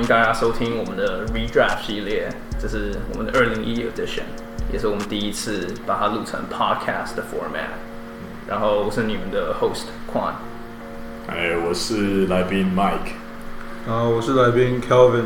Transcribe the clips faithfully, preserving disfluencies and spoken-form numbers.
大家收聽我們的 Redraft 系列，這是我們的二零一一 edition， 也是我們第一次把它錄成 podcast 的 format。然後我是你們的 host Quan， 哎，我是來賓 Mike， 然後我是來賓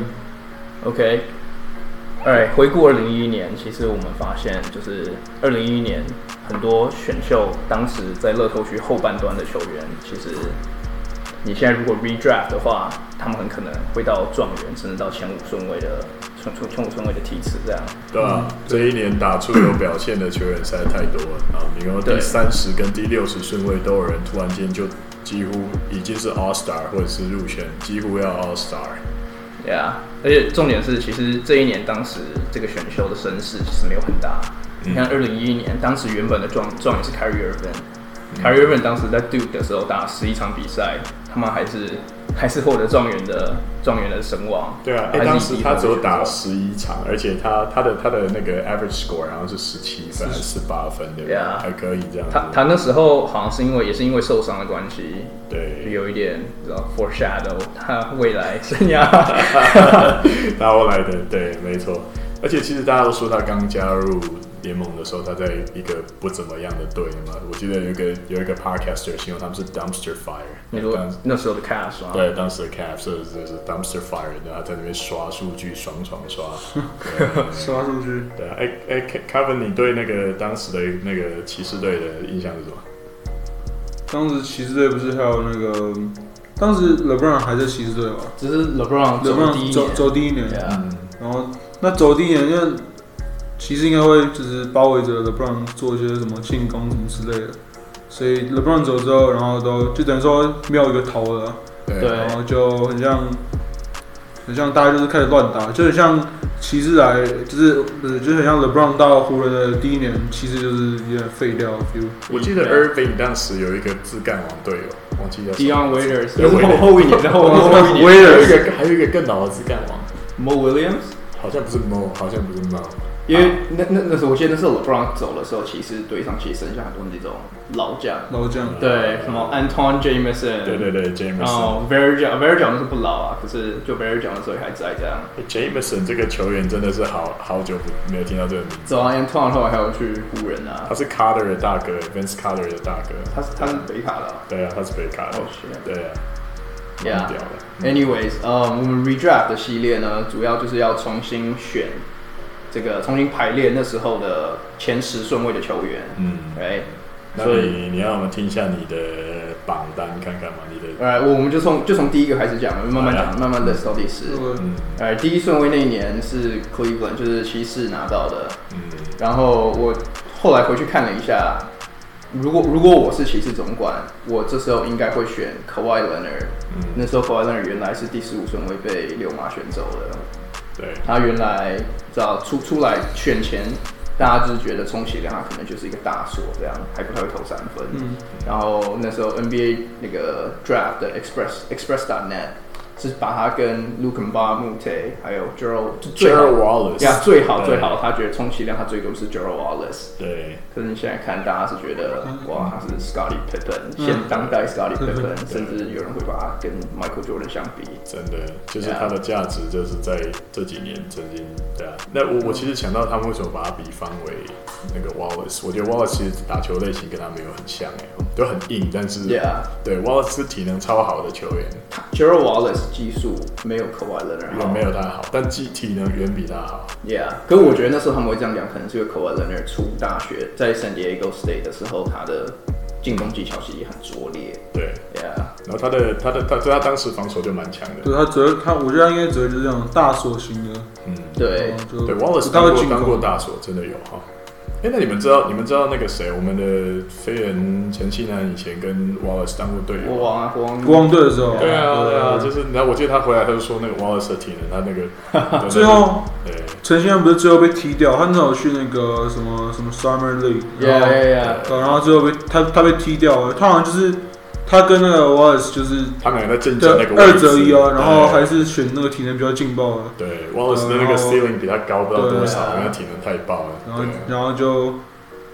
Kelvin。OK， Alright， 回顧二零一一年，其實我們發現就是二零一一年很多選秀當時在樂透區後半段的球員，其實你現在如果 redraft 的話，他們很可能會到狀元，甚至到前五順位的前前五順位的梯次這樣。 對啊，嗯、這一年打出有表現的球員實在太多了啊！你看第三十跟第六十順位都有人突然間就幾乎已經是 All Star 或者是入選，幾乎要 All Star。 對啊，而且重點是，其實這一年當時這個選秀的聲勢其實沒有很大。嗯、你看二零一一年，當時原本的狀狀元是 Kyrie Irving，Kyrie Irving 當時在 Duke 的時候打十一場比賽，他們還是還是獲得狀元的狀元的聲望。 對啊，哎、欸，當時他只有打十一場，而且他他的他的那個 average score 好像是十七分還是十八分，對不對？啊，還可以這樣子。 他他那時候好像是因為也是因為受傷的關係， 對， 有一點你知道 foreshadow 他未來生涯。 他後來的對，沒錯。而且其實大家都說他剛加入聯盟的時候，他在一個不怎麼樣的隊嘛。我記得有一個有一個 podcaster 形容他們是 dumpster fire。 你說那時候的 Cavs 嗎？ 對，當時的 Cavs 就是 dumpster fire，然後他在那邊刷數據，爽爽刷。 刷數據。 對啊，哎哎 ，Kevin， 你對那個當時的那個騎士隊的印象是什麼？ 當時騎士隊不是還有那個，當時 LeBron 還在騎士隊吧？ 只是 LeBron 走第一年， 走第一年。 Yeah. 嗯，然後那走第一年，因為騎士應該會就是包圍着 LeBron 做一些什麼進攻什麼之類的，所以 LeBron 走之後，然後都就等於說沒有一個頭了， 對， 然後就很像很像大家就是開始亂打，就很像騎士來就是不是就是很像 LeBron 到湖人的第一年，騎士就是有點廢掉的 feel。 我記得 Irving 當時有一個自幹王隊友，忘記叫 Dion Waiters， 那是後後一年的後後一年， 還有一個還有一個更老的自幹王 Mo Williams， 好像不是 Mo， 好像不是 Mo。 因為那那那時候，我記得那時候 LeBron 走的時候，其實隊上其實剩下很多那種老將， 老將， 對，什麼 Antoine Jameson， 對對對 Jameson， 然後 Varejao，Varejao 那是不老啊，可是就 Varejao 那時候還在這樣。 Jameson 這個球員真的是好好久沒有聽到這個名字。 走啊 Antoine 後來還有去湖人啊， 他是 Carter 的大哥 ，Vince Carter 的大哥， 他是他是北卡的、啊， 對啊，他是北卡的， oh, 對啊。 Yeah. Anyways， 呃、um, ，我們 Redraft 的系列呢，主要就是要重新選。這個重新排列那時候的前十順位的球員，嗯，哎， 那你你讓我們聽一下你的榜單看看嘛，你的， 哎，我們就從就從第一個開始講，慢慢講，啊、慢慢 list 到第十，嗯，哎，第一順位那一年是 Cleveland， 就是騎士拿到的，嗯，然後我後來回去看了一下，如果如果我是騎士總管，我這時候應該會選 Kawhi Leonard，嗯，那時候 Kawhi Leonard 原來是第十五順位被溜馬選走的。 對， 他原來知道出出來選前，大家就是覺得充其量他可能就是一個大鎖這樣，還不太會投三分。嗯，然後那時候 N B A 那個 Draft 的 Express Express dot net 是把他跟 Luc Mbah a Moute 還有 Gerald Gerald Wallace 呀最好最好，他覺得充其量他最多是 Gerald Wallace。 對， 可是你現在看，大家是覺得哇，他是 Scottie Pippen， 現當代 Scottie Pippen， 甚至有人會把他跟 Michael Jordan 相比。 真的，就是他的價值就是在這幾年曾經對啊。那我我其實想到他們為什麼把他比方為那個 Wallace， 我覺得 Wallace 其實打球類型跟他沒有很像哎，都很硬，但是 yeah. 對 Wallace 是體能超好的球員 ，Gerald Wallace 技術沒有 Kawhi Leonard 好， 也沒有他好，但技體能遠比他好。 Yeah， 可是我覺得那時候他們會這樣講，可能是因為 Kawhi Leonard 出大學在 San Diego State 的時候，他的進攻技巧其實也很拙劣。 對 ，Yeah， 然後他的他的他他當時防守就蠻強的。 對，他主要他我覺得他應該主要就是這種大鎖型的。嗯， 對， 對 Wallace 當過當過大鎖，真的有哈。哎、欸，那你們知道你們知道那個誰，我們的飛人陳慶南以前跟 Wallace 當過隊友。 國王啊，國王國王隊的時候。 對啊，對啊，就是然後我記得他回來他就說那個 Wallace 的體能，他那個最後， 對， 陳慶南不是最後被踢掉，他那時候去那個什麼什麼 Summer League， yeah yeah yeah， 然後最後被他他被踢掉了，他好像就是。他跟那個 Wallace 就是他們兩個在競爭那個二擇一啊，然後還是選那個體能比較勁爆的。 對 ，Wallace 的那個 ceiling 比他高不知道多少，因為體能太爆了。 然後然後就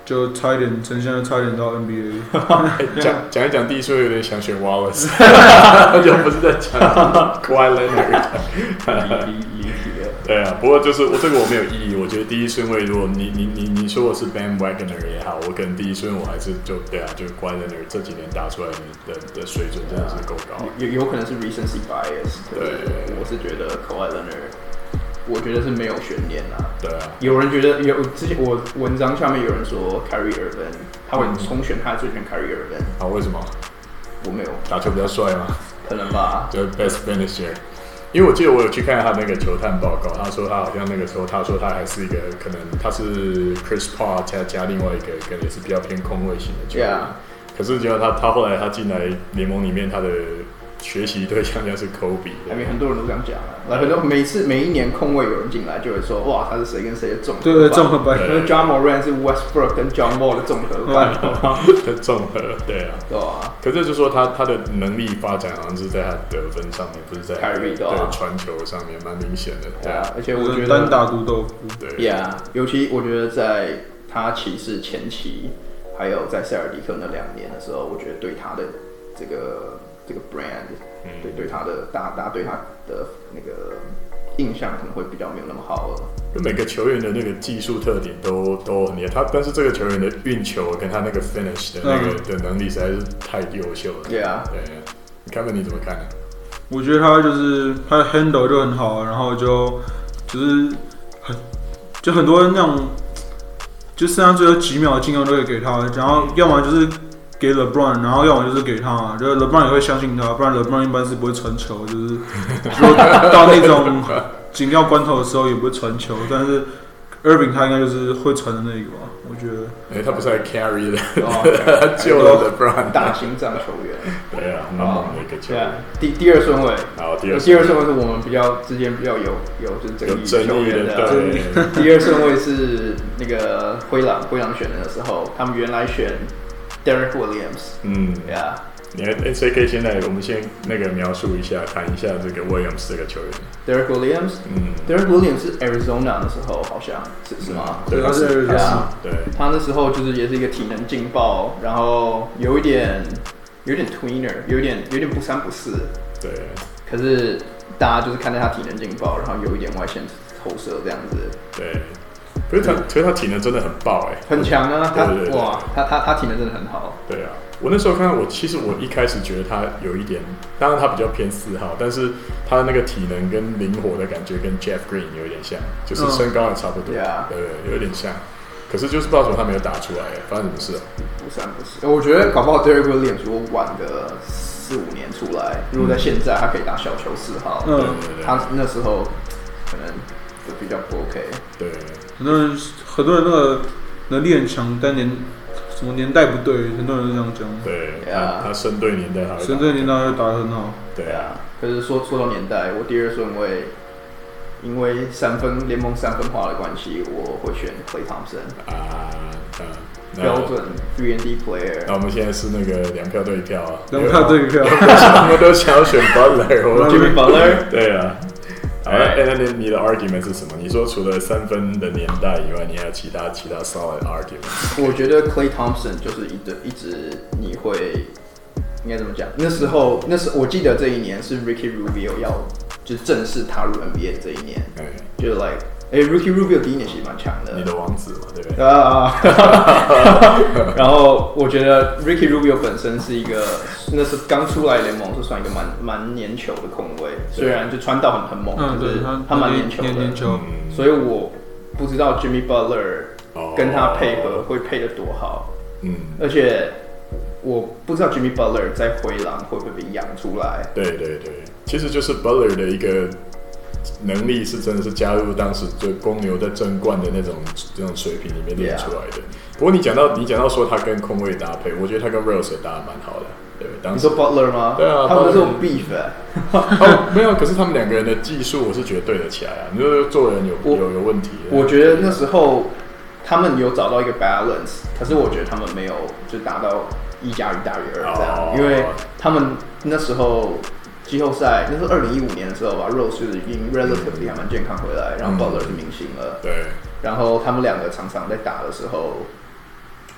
就差一點，呈現差一點到 N B A。 講講一講第一順位有點想選 Wallace， 就不是在講 Kawhi Leonard。 離離題了。 對啊，不過就是我這個我沒有異議，我覺得第一順位如果你你你你說我是 Bam Wagner 也好，我可能第一順位我還是就對啊，就 Kawhi Leonard 這幾年打出來的的的水準真的是夠高。 有有可能是 recency bias， 對，我是覺得 Kawhi Leonard。我覺得是沒有懸念啊。 對啊。 有人覺得有之前我文章下面有人說 Kyrie Irving， 他會重選他最選 Kyrie Irving。 啊，為什麼？ 我沒有。 打球比較帥嗎？ 可能吧。 就是 best finisher。因為我記得我有去看他那個球探報告，他說他好像那個時候他說他還是一個可能他是 Chris Paul 加加另外一個可能也是比較偏控衛型的球員。Yeah. 可是結果他他後來他進來聯盟裡面他的。學習對象就是 Kobe， 還沒很多人都這樣講啊。來，很多每次每一年控衛有人進來，就會說哇，他是誰跟誰的綜合？ 對對，綜合版。 因為 Ja Morant 是 Westbrook 跟 John Wall 的綜合版。 的綜合，對啊。 對啊。 可是就是說他他的能力發展好像是在他得分上面，不是在 Kyrie 對傳球上面，蠻明顯的。 對啊，而且我覺得單打獨鬥。 對。 Yeah， 尤其我覺得在他騎士前期，還有在塞爾迪克那兩年的時候，我覺得對他的這個。這個 brand，、嗯、對對他的大大家對他的那個印象可能會比較沒有那麼好了。 就每個球員的那個技術特點都都很厲害，他但是這個球員的運球跟他那個 finish 的那個、嗯、的能力實在是太優秀了。對啊，對，你看看你怎麼看呢？ 我覺得他就是他的 handle 就很好，然後就就是很就很多人那種，就剩下最後幾秒的進攻都可以給他，然後要麼就是。給 LeBron， 然後要麼就是給他，就是 LeBron 也會相信他，不然 LeBron 一般是不會傳球，就是說到那種緊要關頭的時候也不會傳球，但是 Irving 他應該就是會傳的那個吧，我覺得。哎、 欸，他不是還 carry 的，他救了 LeBron， 大心臟球員。 對啊，蠻猛的一個球員。 第第二順位， 好，第二第二順位是我們比較之間比較有有就是爭議球員的。 對。 第二順位是那個灰狼，灰狼選的時候，他們原來選。Derek Williams， 嗯 ，Yeah， 你看，誰可以先來？我們先那個描述一下，談一下這個 Williams 這個球員。 Derek Williams， 嗯 ，Derek Williams 是 Arizona 的時候，好像是是嗎？ 嗯、對，他是 Arizona，對， 他那時候就是也是一個體能勁爆，然後有一點有一點 tweener， 有一點有一點不三不四， 對。 可是大家就是看到他體能勁爆，然後有一點外線投射這樣子， 對。可是他，可是他體能真的很爆哎、欸， 很強啊！他對對對對哇，他他他體能真的很好。 對啊，我那時候看到我，其實我一開始覺得他有一點，當然他比較偏四號，但是他的那個體能跟靈活的感覺跟 Jeff Green 有一點像，就是身高也差不多，嗯、對，對對，有點像。可是就是不知道為什麼他沒有打出來，發生什麼事啊？ 不三不四，我覺得搞不好 Derek Williams 如果晚個四五年出來，如果在現在他可以打小球四號，嗯，對對對，他那時候可能就比較不 OK。 對。 很多人，很多人那個能力很強，但年什麼年代不對，很多人都這樣講。 對，他他生對年代，他生對年代就打得很好。 對啊，可是說說到年代，我第二順位，因為三分聯盟三分化的關係，我會選 Klay Thompson。啊，嗯，標準 three and D player。 那我們現在是那個兩票對一票啊， 兩票對一票， 他們都想要選 Butler，Jimmy Butler。 對啊。好，哎，那你你的 argument 是什麼？你說除了三分的年代以外，你還有其他其他 solid argument？ 我覺得 Klay Thompson 就是一直一直你會應該怎麼講？那時候那時我記得這一年是 Ricky Rubio 要就是正式踏入 N B A 這一年，嗯，就是 like 哎、欸、Ricky Rubio 第一年其實蠻強的， 你的王子嘛，對不對？ 啊，然後我覺得 Ricky Rubio 本身是一個，那是剛出來聯盟是算一個蠻蠻粘球的控衛，雖然就傳導很很猛，可是他蠻粘球的，粘球，所以我不知道 Jimmy Butler 跟他配合會配得多好，嗯，而且我不知道 Jimmy Butler 在灰狼會不會被養出來。 對對對，其實就是 Butler 的一個能力是真的是加入當時就公牛在爭冠的那種這種水平裡面練出來的。Yeah. 不過你講到你講到說他跟控衛搭配，我覺得他跟 Rose 也搭得蠻好的。對，當時你說 Butler 嗎？ 對啊， 他們是有 beef 哎、欸哦。沒有，可是他們兩個人的技術我是覺得對得起來啊。你說做人有有有問題？ 我覺得那時候他們有找到一個 balance， 可是我覺得他們沒有就達到一加一大於二這樣、哦，因為他們那時候。季後賽那是二零一五年的時候吧 ，Rose 就是已經 relatively 還蠻健康回來，然後 Butler 是明星了、嗯。對。然後他們兩個常常在打的時候，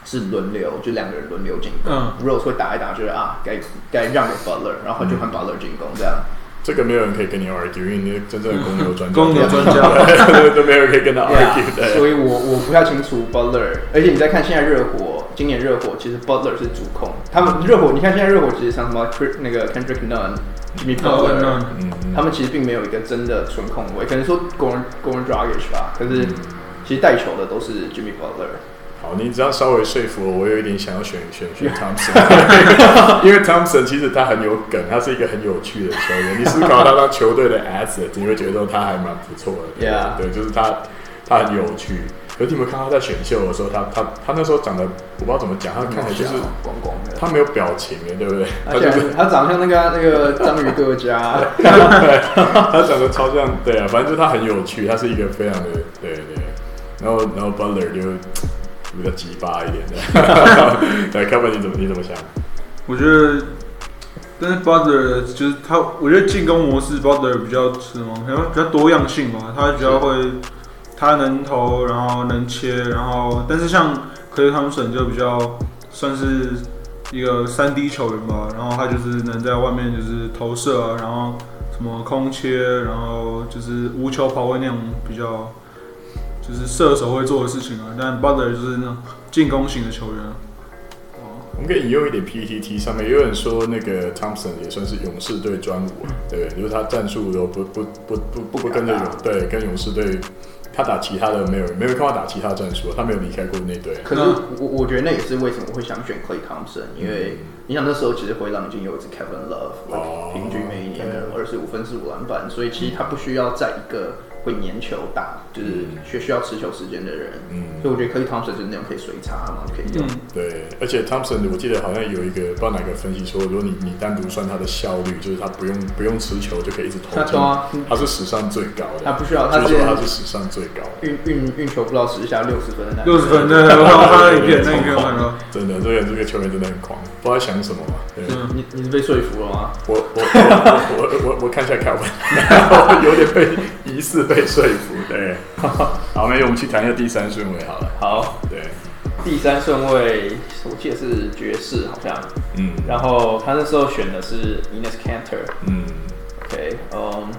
是輪流，就兩個人輪流進攻。嗯、Rose 會打一打，覺得啊，該該讓給 Butler， 然後就換 Butler 進攻這樣。 這個沒有人可以跟你 argue， 因為你真正的公牛專家， 公牛專家都沒有人可以跟他 argue、yeah, 對。 所以我我不太清楚 Butler， 而且你再看現在熱火，今年熱火其實 Butler 是主控，他們熱火，你看現在熱火其實像什麼那個 Kendrick Nunn、Jimmy Butler，、oh, 他們其實並沒有一個真的純控衛，可能說 Goran Goran Dragic 吧，可是其實帶球的都是 Jimmy Butler。 好，你只要稍微說服我，我有一點想要選選選 Thompson， 因為 Thompson 其實他很有梗，他是一個很有趣的球員。你思考他當球隊的 asset， 你會覺得他還蠻不錯的。對, yeah. 對，就是他他很有趣。可是你有沒有看到他在選秀的時候，他他他那時候長得我不知道怎麼講，他看起來就是光光的， 他沒有表情的，對不對？ 他就是他長得像那個那個章魚哥家， 對，他長得超像，對啊，反正就是他很有趣，他是一個非常的對对。然後然後 Butler 就。比較雞巴一點的，對，看看你怎麼你怎麼想？ 我覺得，但是 Butler 就是他，我覺得進攻模式 Butler 比較什麼，比較比較多樣性嘛，他比較會，他能投，然後能切，然後但是像 Klay Thompson 就比較算是一個三 D 球員吧，然後他就是能在外面就是投射啊，然後什麼空切，然後就是無球跑位那種比較。就是射手會做的事情啊，但 Butler 就是那種進攻型的球員、啊。 我們可以引用一點 P T T 上面有人說，那個 Thompson 也算是勇士隊專武，對不對？就是他戰術都不不不不不不跟着勇對跟勇士隊，他打其他的沒有沒有看他打其他戰術，他沒有離開過那隊。 可是我我覺得那也是為什麼我會想選 Klay Thompson，因為你想那時候其實灰狼已經有一支 Kevin Love，、哦、平均每一年二十五分十五籃板，所以其實他不需要在一個。會粘球打，就是需需要持球時間的人，嗯，所以我覺得 Klay Thompson 就是那種可以隨插，然後可以用、嗯。 對，而且 Thompson 我記得好像有一個不知道哪個分析說，如果你你單獨算他的效率，就是他不用不用持球就可以一直投進，他,他是史上最高的。 他不需要，他是他是史上最高的。運運運球不到十下六十分的那六十分的，我看他的影片，那影片我看到， 真的，這個這個球員真的很狂，不知道想什麼嘛。對嗯、你你是被說服了嗎？ 我我我我我我看一下凱文，然後有點被疑似被說服。對，好，那我們去談一下第三順位好了。 好， 對， 第三順位我記得是爵士好像，嗯，然後他那時候選的是 Enes Kanter， 嗯 ，OK， 嗯、um, ，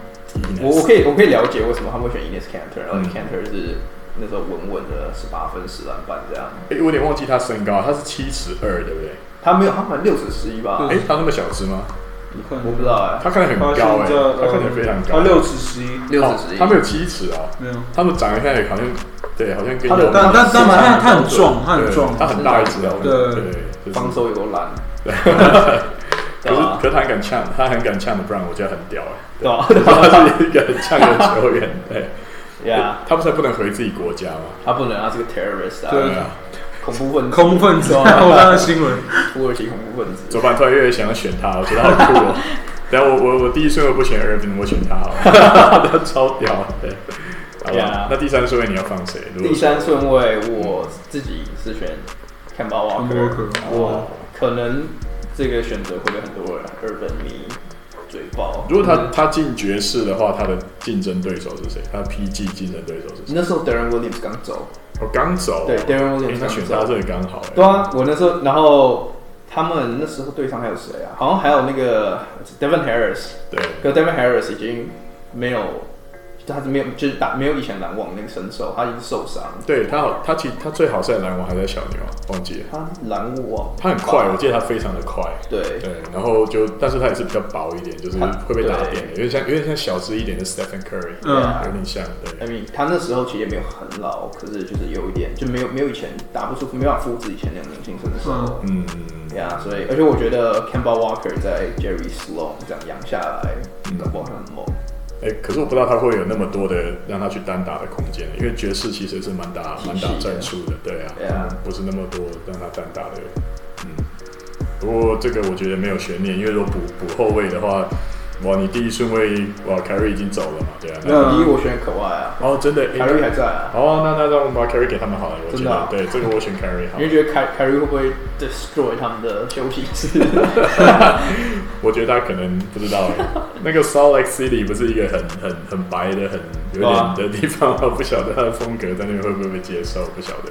我我可以我可以了解為什麼他們會選 Enes Kanter，、嗯、然後 Kanter 是那時候穩穩的十八分十籃板這樣。 哎、欸，我有點忘記他身高，他是七尺二，對不對？ 他沒有，他好像六尺十一吧？ 哎、欸，他那麼小只嗎？ 我不知道哎、欸， 他看起來很高哎、欸，他看起來非常高， 他六尺十一， 六尺十一， 他沒有七尺哦，沒有，他們長得看起來好像，對，好像跟他的， 但但但他他很壯，他很壯， 他很大一只哦， 對對， 防守有多爛， 對，可是可是他很敢嗆，他很敢嗆的，Brown 我覺得很屌哎，對吧？他是一個很嗆的球員，對，呀，他不是不能回自己國家嗎？ 他不能，他是個 terrorist 啊， 對啊。恐怖分子， 恐怖分子，我看到新聞， 土耳其恐怖分子。 左板突然越來越想要選他，我覺得好酷哦。等下我我我第一順位不選 Irving， 我選他好了，他超屌。對，好吧。Yeah. 那第三順位你要放誰？ 第三順位我自己是選 Kemba Walker， 我可能這個選擇會被很多人 Irving 迷嘴爆。 如果他他進爵士的話，他的競爭對手是誰？他的 P G 競爭對手是誰？ 那時候 Darren Williams 剛走。 我、哦、剛走， 對 ，Darren Williams 他選他這裡剛好。 對啊，我那時候，然後他們那時候隊上還有誰啊？好像還有那個 Devin Harris， 對，可 Devin Harris 已經沒有，他是沒有，就是打沒有以前籃網那個身手，他已經受傷。 對他好，他其實他最好是在籃網還在小牛，忘記了。 他籃網， 他很快，我記得他非常的快。 對對，然後就，但是他也是比較薄一點，就是會被打扁的，有點像有點像小只一點的 Stephen Curry， 嗯，有點像。對 ，I mean 他那時候其實也沒有很老，可是就是有一點就沒有沒有以前打不出，沒辦法複製以前那種年輕身手。嗯嗯，對啊，所以而且我覺得 Kemba Walker 在 Jerry Sloan 這樣養下來，搞不好很猛。 哎、欸，可是我不知道他會有那麼多的讓他去單打的空間，因為爵士其實是蠻打蠻打戰術的，對啊， yeah. 嗯，不是那麼多讓他單打的，嗯。不過這個我覺得沒有懸念，因為如果補補後衛的話，哇，你第一順位哇，Kyrie 已經走了嘛，對啊。 那第一我選可外啊。 哦，真的 ，Kyrie 還在啊。 哦，那那讓我們把 Kyrie 給他們好了，我覺得、 啊、 對這個我選 Kyrie 好。 你覺得 Kyrie 會不會 destroy 他們的休息室？ 我覺得他可能不知道，那個 Salt Lake City 不是一個很很很白的、很有點的地方，我不曉得他的風格在那邊會不會被接受，不曉得。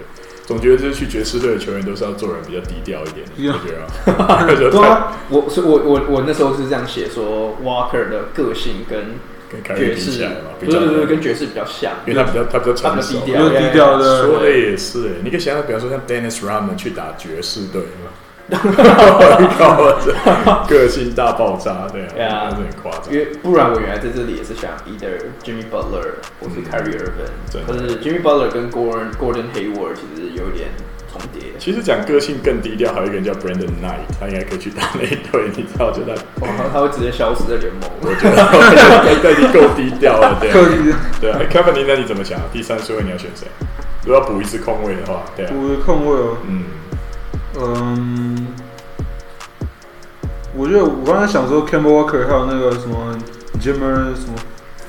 總覺得就是去爵士隊的球員都是要做人比較低調一點，你 Yeah. 覺得嗎？ 對啊，我所以我我我那時候是這樣寫說 Walker 的個性跟爵士對對對，跟爵士比較像， 因為他比較他比較成熟， 比較低調的。 說的也是，你可以想象，比方說像 Dennis Rodman 去打爵士隊，靠，個性大爆炸，對啊，那是很誇張。 因為不然我原來在這裡也是想 either Jimmy Butler 或是 Kyrie Irving，可是 Jimmy Butler 跟 Gordon Gordon Hayward 其實有一點重疊。 其實講個性更低調，還有一個人叫 Brandon Knight， 他應該可以去打那一隊，你知道？就他， 哇，他會直接消失在聯盟。 我覺得他已經夠低調了，對。夠低調。對啊 ，Kevin， 那你怎麼想？第三順位你要選誰？如果要補一次空位的話，對啊。 補一個空位哦。 嗯。 嗯，我覺得我剛才想說 Kemba Walker 還有那個什麼 Jimmer 什麼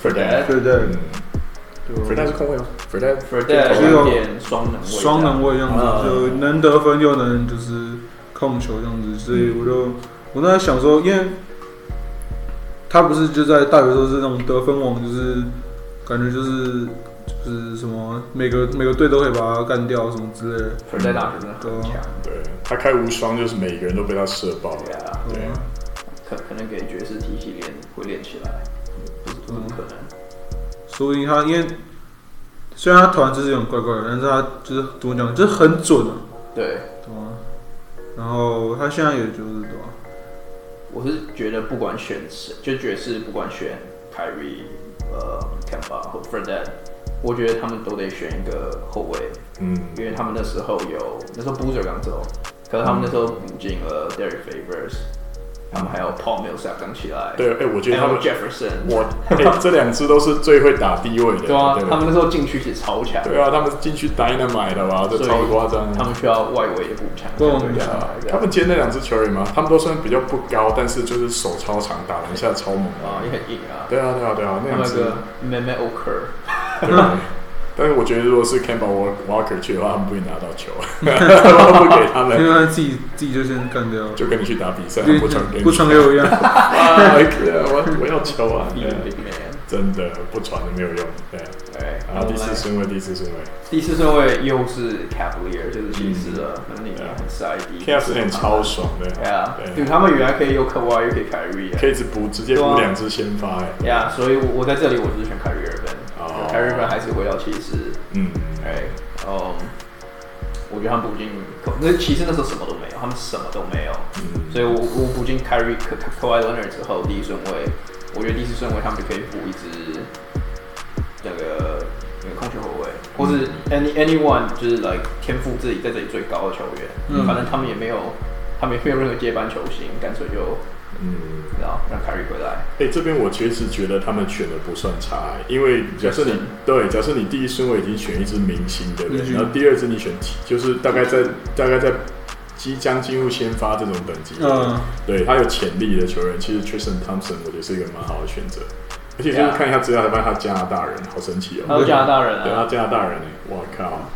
Fredette，Fredette 是空位嗎 ？Fredette，Fredette 有點雙能位， 雙能位樣子，就能得分又能就是控球這樣子，所以我就我那在想說，因為他不是就在大學的時候是那種得分王，就是感覺就是。就是什麼每個每個隊都可以把他幹掉什麼之類的。 他在大學真的很強， 對，他開無雙就是每個人都被他射爆了。對啊， 對，可可能給爵士體系練會練起來，不是不可能。 所以他因為雖然他投籃就是有點怪怪的，但是他就是怎麼講，就是很準啊。 對， 對啊。然後他現在也就是對吧？ 我是覺得不管選誰，就爵士不管選 Kyrie、呃 Kemba 或 Fredette。我覺得他們都得選一個後衛，嗯，因為他們那時候有那時候 Boozer 剛走，可是他們那時候補進了 Derek Favors，、嗯、他們還有 Paul Millsap 剛起來， 對，哎、欸，我覺得他們 Jefferson， 我哎、欸，這兩支都是最會打低位的， 對啊， 對對， 他們那時候禁區其實超強， 對啊，他們禁區 Dynamite 的吧，這超誇張， 他們需要外圍的補強， 對啊，他們今天那兩支球員嘛，他們都算比較不高，但是就是手超長，打籃下超猛啊，也很硬啊， 對啊，對啊，對啊，那兩支 Mehmet Okur。 對，但是我覺得如果是 Kemba Walker 去的話，他們不會拿到球，他們不給他們， 因為他自己自己就先幹掉， 就跟你去打比賽，不傳給你， 不傳給我一樣。 啊，我我要球啊！真的不傳都沒有用，對。 對， 然後第四順位，第四順位， 第四順位又是 Cavalier， 就是騎士了，那裡面很塞迪 ，Cavs 超爽的， 對啊，对，他們原來可以有 Kawhi，又可以 Kyrie， 可以只補直接補兩支先發，哎， 對啊，所以我在這裡我就是選 Kyrie Irving，Kyrie Irving 還是回到騎士，嗯，哎，嗯，我覺得他們補進，那騎士那時候什麼都沒有，他們什麼都沒有，所以我我補進 Kyrie Kawhi Leonard 之後，第一順位。我覺得第四順位他們就可以補一支那個那個控球後衛，或是 any anyone 就是 like 天賦自己在這裡最高的球員，嗯、反正他們也沒有，他們也沒有任何接班球星，乾脆就嗯，然後讓 Kyrie 回來。 哎、欸，這邊我其實覺得他們選的不算差，因為假設你對，假設你第一順位已經選一支明星，對不對？嗯、然後第二支你選就是大概在大概在。即將進入先發這種等級，嗯，對他有潛力的球員，其實 Tristan Thompson 我覺得是一個蠻好的選擇，而且就是看一下資料才發現他加拿大人，好神奇哦、喔！ 他是加拿大人啊， 對，他加拿大人哎、欸，我靠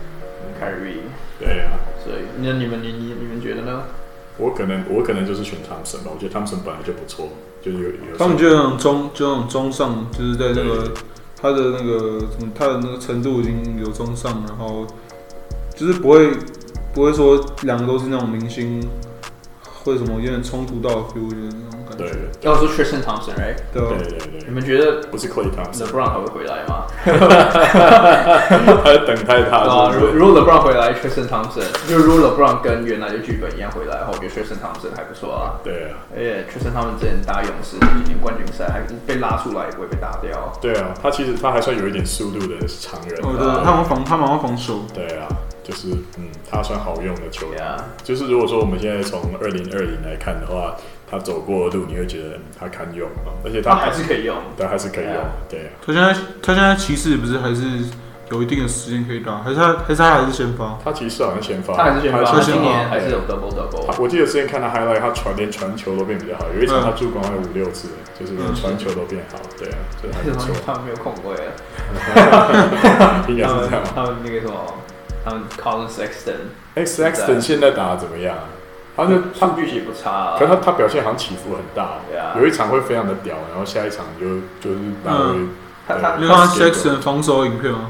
，Kyrie， 對啊， 所以那你們你你你們覺得呢？ 我可能我可能就是選 Thompson 吧，我覺得 Thompson 本來就不錯，就是有有。 他們就那種中就那種中上，就是在那個他的那個他的那個程度已經有中上，然後就是不會。不會說兩個都是那種明星，會什麼有點衝突到 feel 的那種感覺。 對， 要說 Tristan Thompson，right？ 對對對對。 你們覺得不是 Klay Thompson，LeBron 還會回來嗎？ 他在等待他。啊， 如果 LeBron 回來 ，Tristan Thompson， 就如果 LeBron 跟原來的劇本一樣回來的話，我覺得 Tristan Thompson 還不錯啊。 對啊。 而且 Tristan Thompson 之前打勇士今年冠軍賽還被拉出來，不會被打掉。 對啊，他其實他還算有一點速度的長人。 我覺得他蠻防，他蠻會防守。 對啊。就是嗯，他算好用的球員。Yeah. 就是如果說我們現在從二零二零來看的話，他走過的路，你會覺得、嗯、他堪用啊，而且他還， 他還是可以用， 對，還是可以用。Yeah. 對啊。 他現在他現在騎士不是還是有一定的時間可以打，還是他還是他還是先發？ 他騎士好像先發， 他還是先發，他今年還是有 double double。 我記得之前看他 highlight， 他傳連傳球都變比較好，有一場他助攻還有五六次，就是連傳球都變好。對啊，所以還不錯。 他們沒有控衛了，應該是這樣。 他們那個什麼？他們 Collin Sexton，X Sexton 現在打得怎麼樣？他就數據其實不差、啊， 可是他他表現好像起伏很大。 Yeah. 有一場會非常的屌，然後下一場就就是打回。 他他你看 Sexton 防守影片嗎？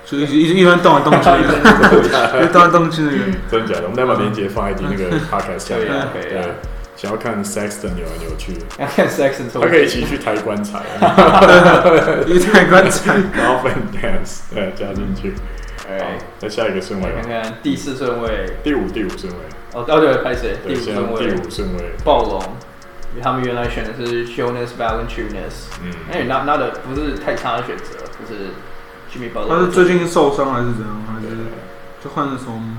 就一直一直一邊動來動去，一動來動去那個。 真的假的？我們再把鏈接放在那個 podcast 下面。 可以對，想要看 Sexton 扭來扭去， 要看 Sexton， 他可以一起去抬棺材， 一抬棺材， 然後 Fan Dance 對加進去。好，再下一個順位， 看看第四順位， 第五第五順位。 哦，哦對，拍誰？第五順位， 第五順位， 暴龍。因為他們原來選的是 Jonas Valanciunas，嗯，哎，那那的不是太差的選擇，就是 Jimmy Butler。他是最近受傷還是怎樣？還是就換了什麼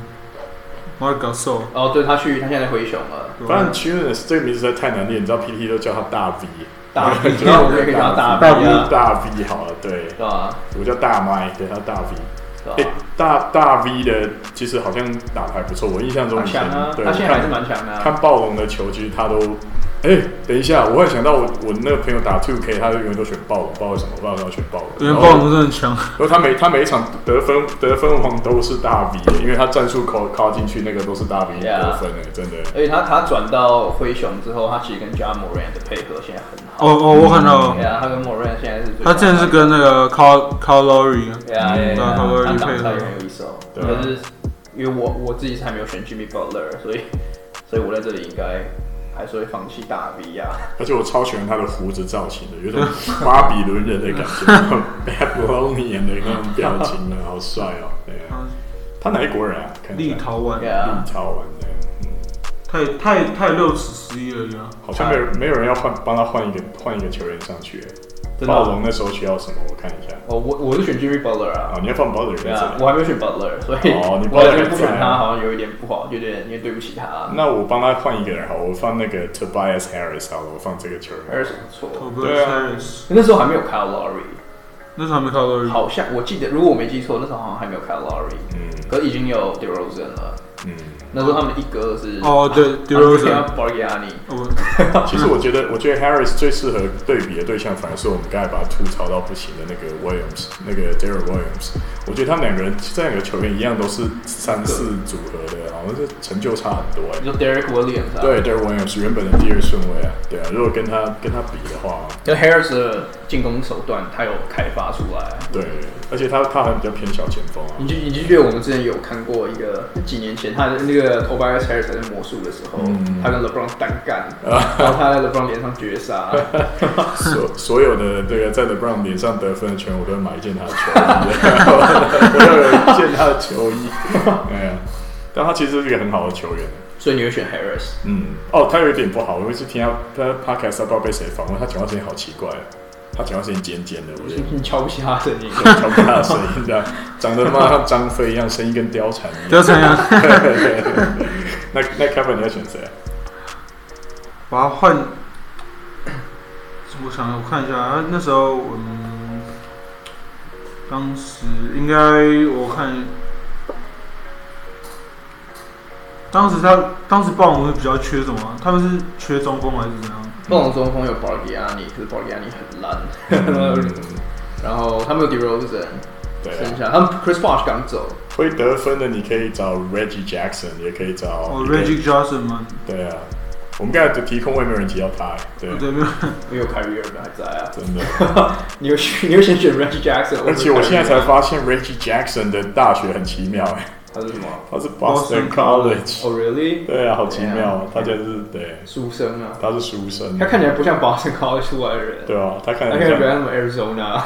Marc Gasol？ 哦，對，他去，他現在在灰熊了。 Valanciunas 這個名字實在太難念，你知道 P T 都叫他大 V， 大 V， 然後我們也可以叫他大 V 啊， 大 V 好了，對， 对吧？ 我叫大麥，对，他大 V。哎、欸，大大 V 的其實好像打得還不錯，我印象中以前， 啊、 對， 他現在還是蠻強的、啊。 看暴龍的球，其實他都，哎、欸，等一下，我會想到我我那個朋友打 two K， 他就永遠都選暴龍，不知道為什麼，不知道他選暴龍。 因為暴龍真的很強。 然後他每他每一場得分得分王都是大 V 的，因為他戰術靠靠進去那個都是大 V 得分的， yeah. 真的。 而且他他轉到灰熊之後，他其實跟 Ja Morant 的配合現在很好。 哦哦，我看到。 對啊，他跟 Morant 現在是最。 他之前是跟那個 Kyle Kyle Lowry， 對啊，對啊，他打打也很有意思哦。可是因為我我自己是還沒有選 Jimmy Butler， 所以所以我在這裡應該還是會放棄大 V 啊。 而且我超喜歡他的鬍子造型的，有種巴比倫人的感覺，Babylonian 的那種表情呢，好帥哦。對啊，他哪一國人啊？ 立陶宛， 立陶宛的。 他也他也他也六尺十一而已啊。 好像沒有沒有人要換幫他換一個換一個球員上去。暴龍那時候需要什麼？我看一下。 哦，我我是選 Jimmy Butler 啊。 哦，你要放 Butler 在這裡。 我還沒有選 Butler， 所以哦，你我覺得不選他好像有一點不好，有點有點對不起他。 那我幫他換一個人好，我放那個 Tobias Harris 好了，我放這個球員。 Harris 不錯。 對啊。 那時候還沒有 Kyle Lowry。 那時候還沒 Kyle Lowry。 好像我記得，如果我沒記錯，那時候好像還沒有 Kyle Lowry。嗯。可是已經有 DeRozan 了。嗯。那時候他們一哥是哦，對 DeRozan Bargnani。 其實我覺得，我覺得 Harris 最適合對比的對象，反而是我們剛才把他吐槽到不行的那個 Williams， 那個 Derrick Williams。我覺得他們兩個人，這兩個球員一樣，都是三四組合的，好像是成就差很多哎。 你說 Derrick Williams 啊？ 對 ，Derrick Williams 原本的第二順位啊，對啊。如果跟他跟他比的話， 就 Harris 的進攻手段，他有開發出來。 對，而且他他還比較偏小前鋒啊。 你就你就覺得我們之前有看過一個幾年前他的那個 Tobias Harris 在魔術的時候，嗯、他跟 LeBron 單幹，然後他在 LeBron 臉上絕殺。 所所有的這個在 LeBron 臉上得分的球員，我都會買一件他的球衣，我要有一件他的球衣。哎呀，但他其實是一個很好的球員。 所以你會選 Harris？ 嗯，哦，他有一點不好，我有一次聽他他 Podcast 不知道被誰訪問，他講話聲音好奇怪。他講話聲音尖尖的，我覺得你瞧不起他的聲音， 瞧不起他的聲音，這樣長得他媽像張飛一樣，聲音跟貂蟬一樣。 貂蟬啊！ 那那 Kevin 你要選誰？ 把他換。我想我看一下，那時候我們當時應該我看，當時他當時暴龍是比較缺什麼？他們是缺中鋒還是怎樣？ 暴龍中鋒有 Bargnani，可是 Bargnani 很爛。嗯、然後他們有 DeRozan， 對、啊， 剩下他們 Chris Bosh 剛走。 會得分的你可以找 Reggie Jackson， 也可以找哦 Reggie Jackson 嗎？ 對啊，我們剛才的提空位沒有人提到他，對， 對，沒有， 沒有 Kyrie Irving 還在啊， 真的。 你有你有先選 Reggie Jackson， 而且我現在才發現 Reggie Jackson 的大學很奇妙哎。 他是什麼？ 他是 Boston College。 哦 ，Really？ 對啊，好奇妙，他就是對書生啊。 他是書生。 他看起來不像 Boston College 出來的人。 對啊，他看起來比較像什麼 Arizona。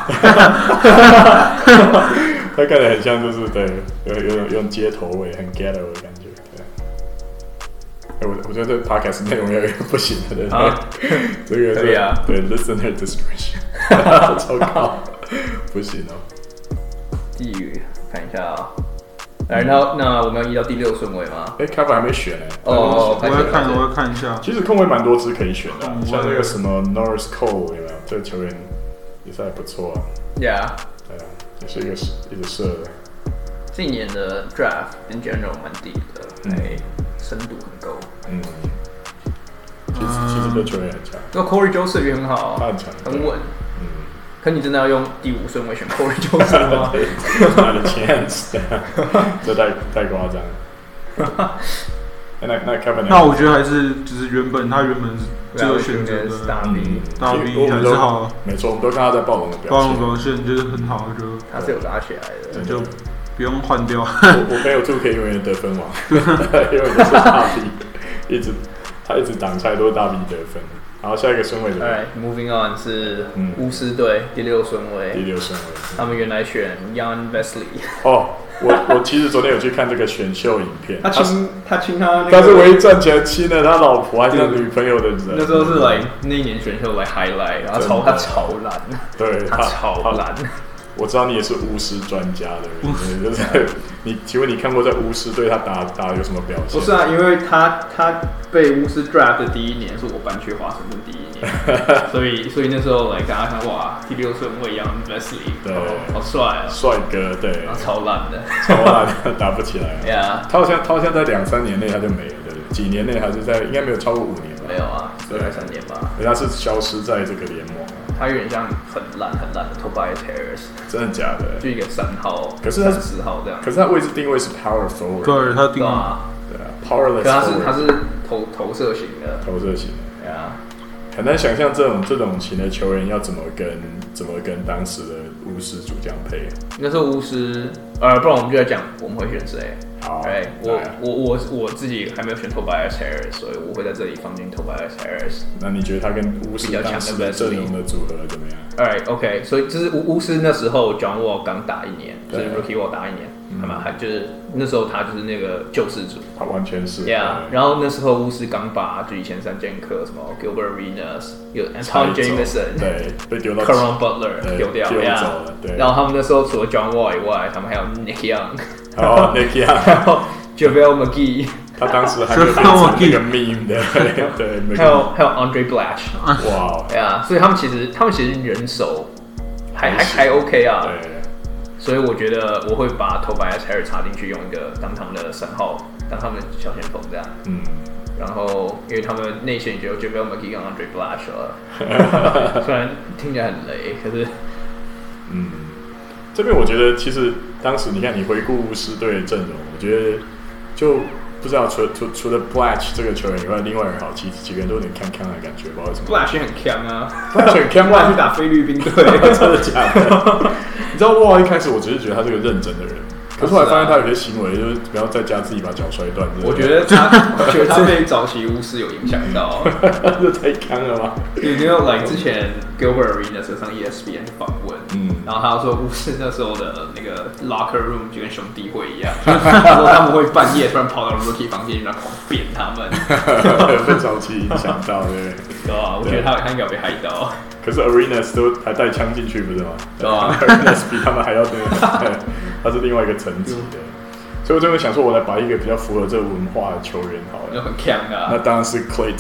他看起來很像，就是對，有有有種街頭味，很 ghetto 的感覺。對。哎，我我覺得這 podcast 內容有點不行了，對不對？這個可以啊。 對 ，listener discretion。糟糕，不行哦。 地獄，看一下啊。來，那那我們要移到第六順位嗎？ 哎 ，Kevin 還沒選呢。 哦， 我要看，我要看一下。 其實空位蠻多支可以選的，像那個什麼 Norris Cole 有沒有？這個球員也是還不錯啊。 Yeah。 對啊，也是一個一直射的。 這一年的 Draft in general 蠻低的，哎，深度很夠。嗯。 其實其實這球員很強。 那 Corey Joseph 也很好， 他很強， 很穩。可你真的要用第五順位選 Corey Joseph 嗎？ 他的 chance， 這太太誇張了。 那那 Kevin， 那我覺得還是就是原本他原本這個選擇的大 B， 大 B 還是好。 沒錯，我們都看他在暴龍的表現， 暴龍表現就是很好，就他是有拉起來的， 就不用換掉。 我我沒有 two K 永遠得分王，因為就是大 B， 一直他一直擋拆都是大 B 得分。然後下一個順位的 ，Alright, moving on 是巫師隊第六順位， 第六順位， 他們原來選 Jan Vesely。 哦，我我其實昨天有去看這個選秀影片， 他親他親他， 他是唯一賺錢親了他老婆還是他女朋友的人。 那時候是來那一年選秀來 highlight， 然後超他超爛， 對他超爛。 我知道你也是巫師專家的人，就是你，請問你看過在巫師隊他打打有什麼表現？ 不是啊，因為他他被巫師 draft 的第一年是我搬去華盛頓第一年，所以所以那時候來大家看哇，第六順位 Jan Vesely， 對，好帥啊， 帥哥，對， 超爛的， 超爛的，打不起來。 Yeah， 他好像他好像在兩三年內他就沒了，對不對？幾年內還是在，應該沒有超過五年吧？ 沒有啊，大概三年吧。 因為他是消失在這個聯盟。 他有點像很爛很爛的 Tobias Harris， 真的假的？ 就一個三號， 可是他是四號這樣。 可是他位置定位是 power forward， 對，他定啊， 對啊 ，powerless。 可他是他是投投射型的， 投射型的。 对啊， 很難想象這種這種型的球員要怎麼跟怎麼跟當時的巫師主將配。 那時候巫師，呃，不然我們就來講我們會選誰。 好， 對，我我我我自己還沒有選 Tobias Harris， 所以我會在這裡放進 Tobias Harris。 那你覺得他跟巫師當時的陣容的組合怎麼樣 ？Alright, OK， 所以就是巫巫師那時候 John Wall 剛打一年，就是 Rookie Wall 打一年，他們還就是那時候他就是那個救世主， 他完全是。 Yeah， 然後那時候巫師剛把就以前三劍客什麼 Gilbert Arenas 有 Anton Jameson， 對，被丟到 Caron Butler 丟掉， 丢走了，对。 然後他們那時候除了 John Wall 以外，他們還有 Nick Young。 哦 ，Nick Young， 然後 JaVale McGee， 他當時還沒有變成那個 meme 的，對， 還有還有 Andre Blatche， 哇， 對啊，所以他們其實他們其實人手還還還 OK 啊， 對， 所以我覺得我會把 Tobias Harris 插進去，用一個當他們的三號，當他們的小前鋒這樣，嗯，然後因為他們內線就有 JaVale McGee 跟 Andre Blatche 了，雖然聽起來很雷，可是， 嗯，這邊我覺得其實。當時你看，你回顧巫師隊的陣容，我覺得就不知道除除除了 Blatche 這個球員以外，另外人好幾幾個人都有點鏘鏘的感覺，不知道為什麼。 Blatche 很鏘啊 ，Blatche 很鏘， 不然去打菲律賓隊， 真的假的？你知道哇，一開始我只是覺得他是個認真的人，可是後來發現他有些行為就是不要在家自己把腳摔斷。 我覺得他，我覺得他被早期巫師有影響到， 這太鏘了吧？ 有沒有 like 之前 Gilbert Arenas 上 E S P N 訪問，嗯，然後他說巫師那時候的那個 locker room 就跟兄弟會一樣，他說他們會半夜突然跑到 Rookie 房間，然後狂扁他們， 被早期影響到，對， 對啊，我覺得他他應該有被害到。 可是 Arenas 都還帶槍進去，不是嗎？ 對啊 ，Arenas 比他們還要對，他是另外一個層級的。所以我就會想說，我來把一個比較符合這個文化的球員好了， 就很強啊。 那當然是 Klay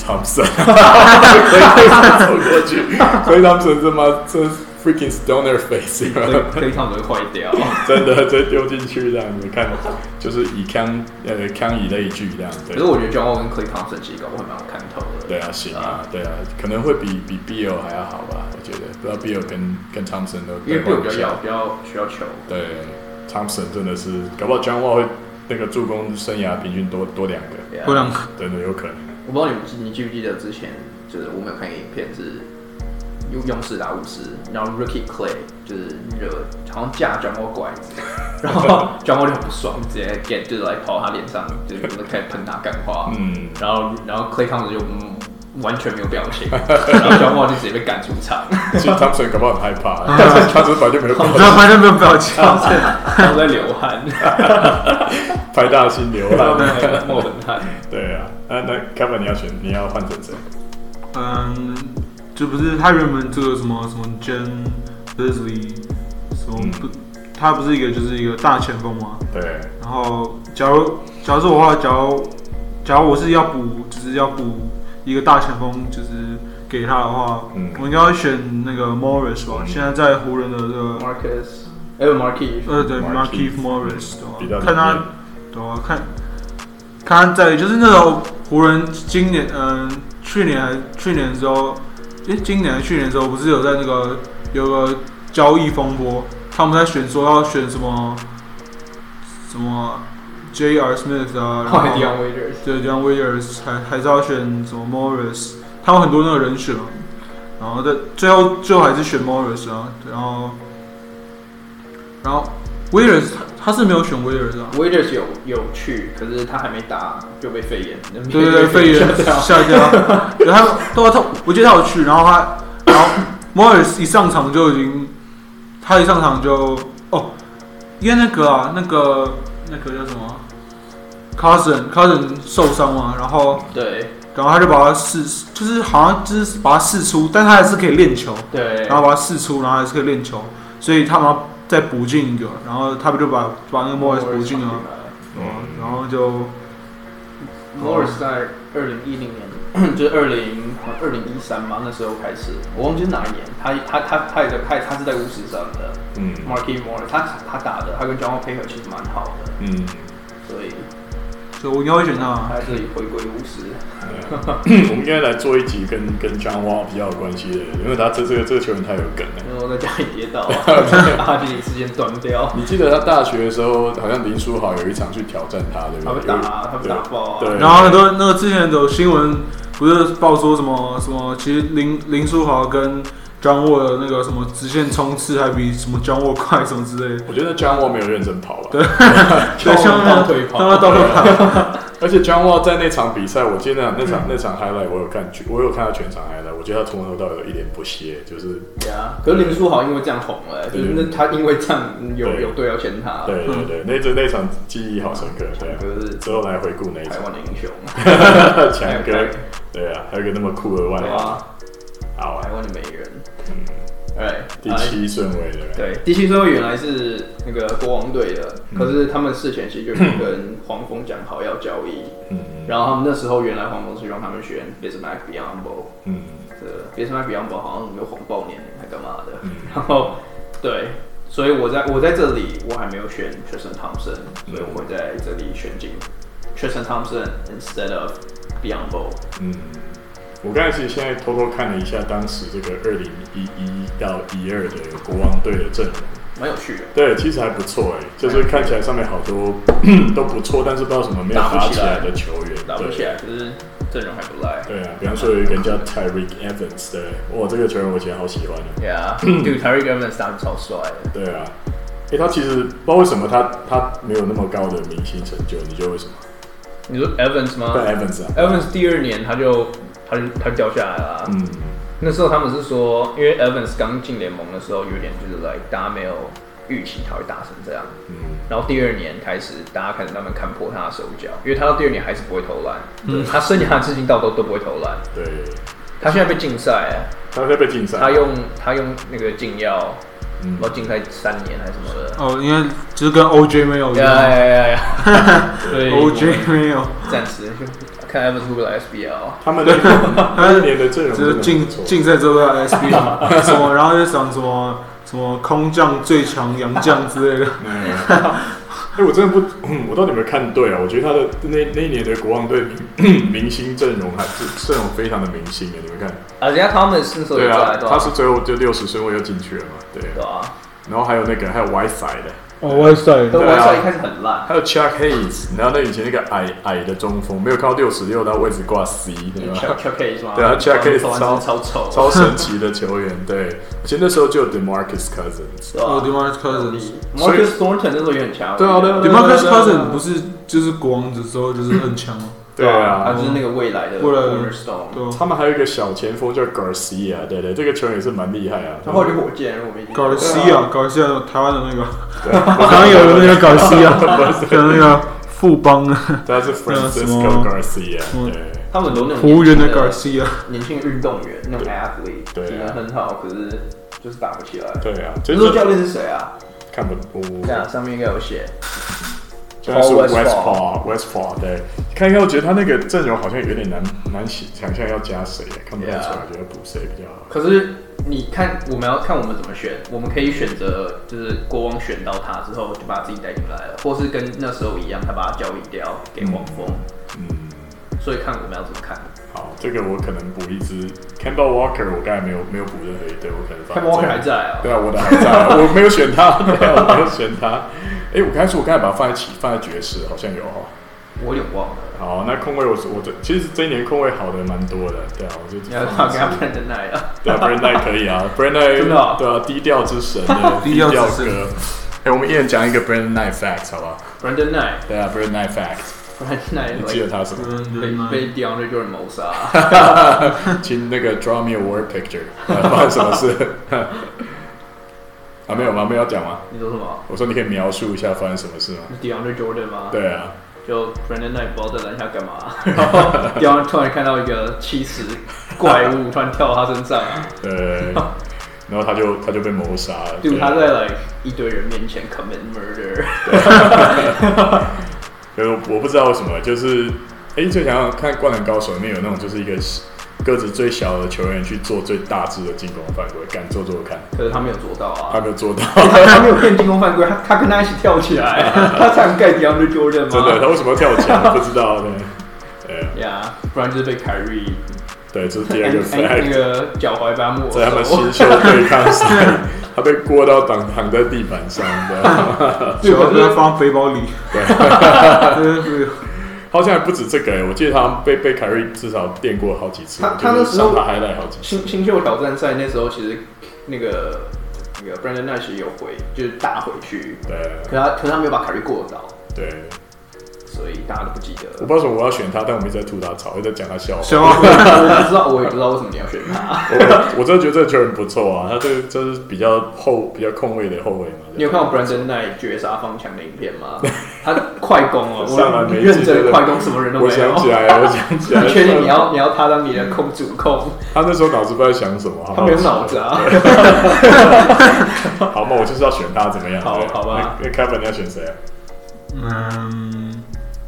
Thompson。Klay Thompson 走過去 ，Klay Thompson 這媽這 freaking stoner face，Klay Thompson 會壞掉， 真的直接丟進去這樣子看，就是以槍呃槍以類聚這樣。 可是我覺得 John Wall 跟 Klay Thompson 其實搞不好蠻好看透的。 對啊，行啊，對啊，可能會比比 Beal 還要好吧？我覺得，不知道 Beal 跟跟 Thompson 都因為 Beal 比較要比較需要球。 對。Thompson 真的是，搞不好 John Wall 會那個助攻生涯平均多多兩個， 多兩個， 真的有可能。 我不知道你們你記不記得之前，就是我們有看一個影片是勇勇士打巫師，然後 Rookie Klay 就是惹好像架 John Wall 拐子，然後 John Wall 就很不爽，直接 get 就是來跑他臉上，就是開始噴他幹話，嗯，然後然後 Klay Thompson 就嗯。完全沒有表情，然後 John Wall 就直接被趕出場。 其實 Thompson 搞不好很害怕，他只是本來就沒有表情， 他本來就沒有表情， 他在流汗， 拍大星流汗， 冒冷汗。 對啊，那那 Kevin 你要選，你要換成誰？ 嗯，就不是他原本這個什麼什麼 Jan Vesely 什麼不，他不是一個就是一個大前鋒嗎？ 對。然後假如假如說我話，假如假如我是要補，就是要補。一個大前鋒就是給他的話，嗯、我應該會選那個 Morris 吧。嗯、現在在湖人的這個 Marcus，還有 Markieff， 呃對 Markieff Morris，對吧？看他，對吧？看，看他在就是那種湖人今年，嗯、呃，去年還去年的時候，誒、欸，今年還去年的時候不是有在那個有個交易風波，他們在選說要選什麼什麼。 J R Smith 啊，然后 Dion Waiters， 对 Dion Waiters， 還還是要選什麼 Morris， 他有很多那個人選嘛，然後在最後最後還是選 Morris 啊，然後然後 Waiters 他是沒有選 Waiters 啊 ，Waiters 有有去，可是他還沒打就被肺炎， 對對對，肺炎下掉，然後他他我記得他有去，然後他然後 Morris 一上場就已經，他一上場就哦，因為那個啊那個那個叫什麼 Cousin Cousin 受傷嘛，然後對， 然後他就把他試，就是好像就是把他試出，但他還是可以練球， 對， 然後把他試出，然後還是可以練球，所以他們再補進一個，然後他們就把把那個 Morris 補進了，嗯，然後就 Morris 在二零一零年，就是二零二零一三嘛，那時候開始，我忘記是哪一年，他他他他也在他他是在巫師上的，嗯 ，Markieff Morris， 他他打的，他跟 John Wall 配合其實蠻好的，嗯，所以。 所以我應該會選他， 他這裡回歸巫師。 我們應該來做一集跟跟 John Wall 比較有關係的，因為他這這個這個球員太有梗了。 然後在家裡跌倒，阿基里斯腱斷掉。 你記得他大學的時候，好像林書豪有一場去挑戰他，對不對？他被打，他被打爆。 對。然後很多那個之前有新聞不是報說什麼什麼，其實林林書豪跟John Wall 的那個什麼直線衝刺還比什麼 John Wall 快什麼之類的。 我覺得 John Wall 沒有認真跑吧。 對，對，像倒退跑，他倒退跑。 而且 John Wall 在那場比賽，我記得那場那場 highlight 我有看，我有看到全場 highlight， 我覺得他從頭到尾有一臉不屑，就是。對啊， 可是林書豪因為這樣紅了，就是那他因為這樣有有隊要簽他。 對對對，那這那場記憶好深刻，對啊。就是之後來回顧那一場。 台灣的英雄。 強哥，對啊，還有一個那麼酷的外號。好， 台灣的美人。嗯， 對，第七順位的。 對，第七順位原來是那個國王隊的，可是他們事前其實就跟黃蜂講好要交易，嗯，然後他們那時候原來黃蜂是讓他們選 Bismack Biyombo， 嗯，這 Bismack Biyombo 好像有謊報年齡還幹嘛的，嗯，然後對，所以我在我在這裡我還沒有選 Tristan Thompson，所以我會在這裡選進 Tristan Thompson instead of Biyombo， 嗯。 我剛才其實現在偷偷看了一下當時這個二零一一到一二的國王隊的陣容， 蠻有趣的。 對，其實還不錯哎，就是看起來上面好多都不錯，但是不知道什麼沒有打起來的球員， 打不起來，可是陣容還不賴。 對啊，比方說有一個人叫 Tyreke Evans， 對，哇，這個球員我以前好喜歡的。 對啊，對 Tyreke Evans 打得超帥的。 對啊，哎，他其實不知道為什麼他他沒有那麼高的明星成就，你覺得為什麼？ 你說 Evans 嗎？ 對 Evans 啊 ，Evans 第二年他就。他就他掉下來了、啊。嗯，那時候他們是說，因為 Evans 剛進聯盟的時候，有點就是 like 大家沒有預期他會打成這樣。嗯，然後第二年開始，大家開始慢慢看破他的手腳，因為他到第二年還是不會投籃。嗯，他生涯至今到都都不會投籃。對，他現在被禁賽。 他現在被禁賽。 他用他用那個禁藥，然後禁賽三年還是什麼的。 哦，因為就是跟 O J 沒有一樣。 呀呀呀呀！對 ，O J 沒有， 暫時。看 Evans 會不會來 S B L， 他們那一年的陣容就是競競賽之後要 S B L， 什麼，然後就想什麼什麼空降最強洋將之類的。 哎，我真的不，我到底有沒有看對啊？我覺得他的那那一年的國王隊明星陣容還是陣容非常的明星哎，你們看。 啊，人家他們是對啊， 他是最後就六十順位又進去了嘛，對。對啊。然後還有那個還有 Whiteside 的。 哦 ，Whiteside， 對 ，Whiteside 一開始很爛。 還有 Chuck Hayes， 然後那以前那個矮矮的中鋒，沒有看到六十六，他位置掛 C， 對吧 ？Chuck Hayes 嗎？ 對啊 ，Chuck Hayes 超超醜， 超神奇的球員，對。而且那時候就有 DeMarcus Cousins， 哦 ，DeMarcus Cousins，Marcus Thornton 那時候也很強。 對啊，對啊 ，DeMarcus Cousins 不是就是國王的時候就是很強嗎？ 對啊， 他就是那個未來的 Cornerstone。 他們還有一個小前鋒叫 Garcia， 對對，這個球員也是蠻厲害啊。 他後來就火箭，我沒記錯。Garcia，Garcia， 台灣的那個，我剛剛有那個 Garcia， 跟那個富邦的。 他是 Francisco Garcia， 對。 他們很多那種服務員的 Garcia， 年輕運動員，那種 athlete， 體能很好，可是就是打不起來。 對啊， 這個教練是誰啊？ 看不懂。 對啊，上面應該有寫。 現在是 Westfall，Westfall， 對，看一看，我覺得他那個陣容好像有點難難想象要加誰，看不太出來，覺得補誰比較好。 可是你看，我們要看我們怎麼選，我們可以選擇就是國王選到他之後就把自己帶進來了，或是跟那時候一樣，他把他交易掉給黃蜂。嗯，所以看我們要怎麼看。好， 這個我可能補一支 Kemba Walker， 我剛才沒有沒有補任何一隊，我可能 Kemba Walker 還在啊。 對啊，我的還在啊，我沒有選他，對啊，我沒有選他。 哎，我剛才說我剛才把它放在起放在爵士，好像有哈。 我有點忘了。 好，那控衛我我的其實這一年控衛好的蠻多的，對啊，我就你要他給他 Brandon Knight 啊， 對啊 Brandon Knight 可以啊 ，Brandon Knight 對啊，低調之神的低調哥。哎，我們一人講一個 Brandon Knight fact 好不好 ？Brandon Knight 對啊 ，Brandon Knight fact。Knight 你記得他什麼？ 被被 DeAndre Jordan 謀殺。 請那個 draw me a word picture， 發生什麼事？啊，沒有嗎？沒有要講嗎？ 你說什麼？ 我說你可以描述一下發生什麼事嗎 ？DeAndre Jordan 嗎？ 對啊。 就 Brandon Knight 不知道在籃下幹嘛，然後 DeAndre 突然看到一個七十怪物突然跳到他身上， 對，然後他就他就被謀殺了。 就他在 like 一堆人面前 commit murder。 可是我不知道為什麼，就是哎，最想要看《灌籃高手》裡面有那種就是一個個子最小的球員去做最大隻的進攻犯規，敢做做看。 可是他沒有做到啊， 他沒有做到， 他, 他沒有騙進攻犯規，他他跟他一起跳起來，他才蓋 DeAndre Jordan 嗎？ 真的，他為什麼要跳起來？不知道，對，對呀， yeah, 不然就是被凱瑞。 對，這是第二個 fact。 那個腳踝把他沒收， 在他們新秀對抗賽，他被過到躺躺在地板上的， 腳在放背包裡。 對。好像還不止這個哎，我記得他被被凱瑞至少電過好幾次。 他他那時候他還來好幾次。 新新秀挑戰賽那時候其實那個那個 Brandon Knight 有回，就是打回去。 對。 可他可是他沒有把凱瑞過倒。 對。 所以大家都不記得。 我不知道為什麼我要選他，但我們一直在吐他槽，一直在講他笑話。 笑話。 我不知道，我也不知道為什麼你要選他。 我我真的覺得這個球員不錯啊，他這個就是比較後比較控衛的後衛嘛。 你有看過 Brandon Knight 絕殺放槍的影片嗎？他快攻哦， 上來沒認真快攻，什麼人都沒有。 我想起來了，我想起来了。 你確定你要你要他當你的控主控？ 他那時候腦子不知道在想什麼， 他沒有腦子啊。 好嘛，我就是要選他，怎麼樣？ 好，好吧。 那 Kevin 你要選誰啊？ 嗯，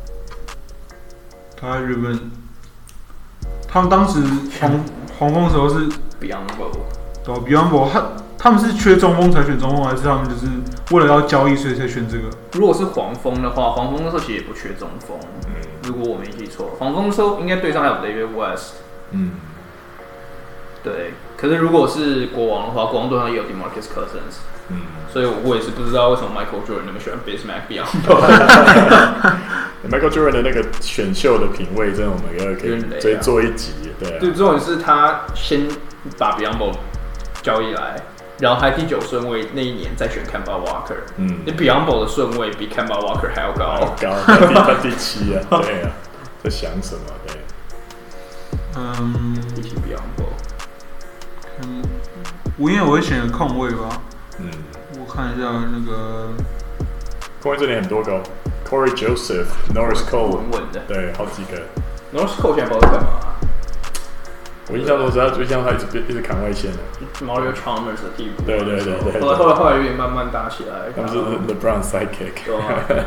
他原本他們當時黃黃蜂的時候是 Biyombo， 對 Biyombo， 他他們是缺中鋒才選中鋒，還是他們就是為了要交易所以才選這個？ 如果是黃蜂的話，黃蜂那時候其實也不缺中鋒。嗯，如果我沒記錯，黃蜂那時候應該隊上還有 David West。嗯，對。可是如果是國王的話，國王隊上也有 DeMarcus Cousins。嗯，所以我也是不知道為什麼 Michael Jordan 那麼喜歡 Bismack Biyombo。Michael Jordan 的那個選秀的品味，真的我們要可以追做一集，對、啊。 對，重點是他先把 Biyombo 交易來，然後還第九順位那一年再選 Kemba Walker。嗯，那 Biyombo 的順位比 Kemba Walker 還要高， 還要高，他第他第七啊，對啊，在想什麼？對， 嗯， 比起 Biyombo， 嗯，我應該我會選個控衛吧。 嗯， 我看一下那個控衛這裡很多個 ，Corey Joseph、Norris Cole， 穩穩的， 對，好幾個。 Norris Cole 現在不知道在幹嘛、啊。 我印象中，只要就像他一直一直砍外線的 ，Mario Chalmers 的替補。 對對對對。 後來後來後來有點慢慢打起來。 他們是 LeBron sidekick。對啊。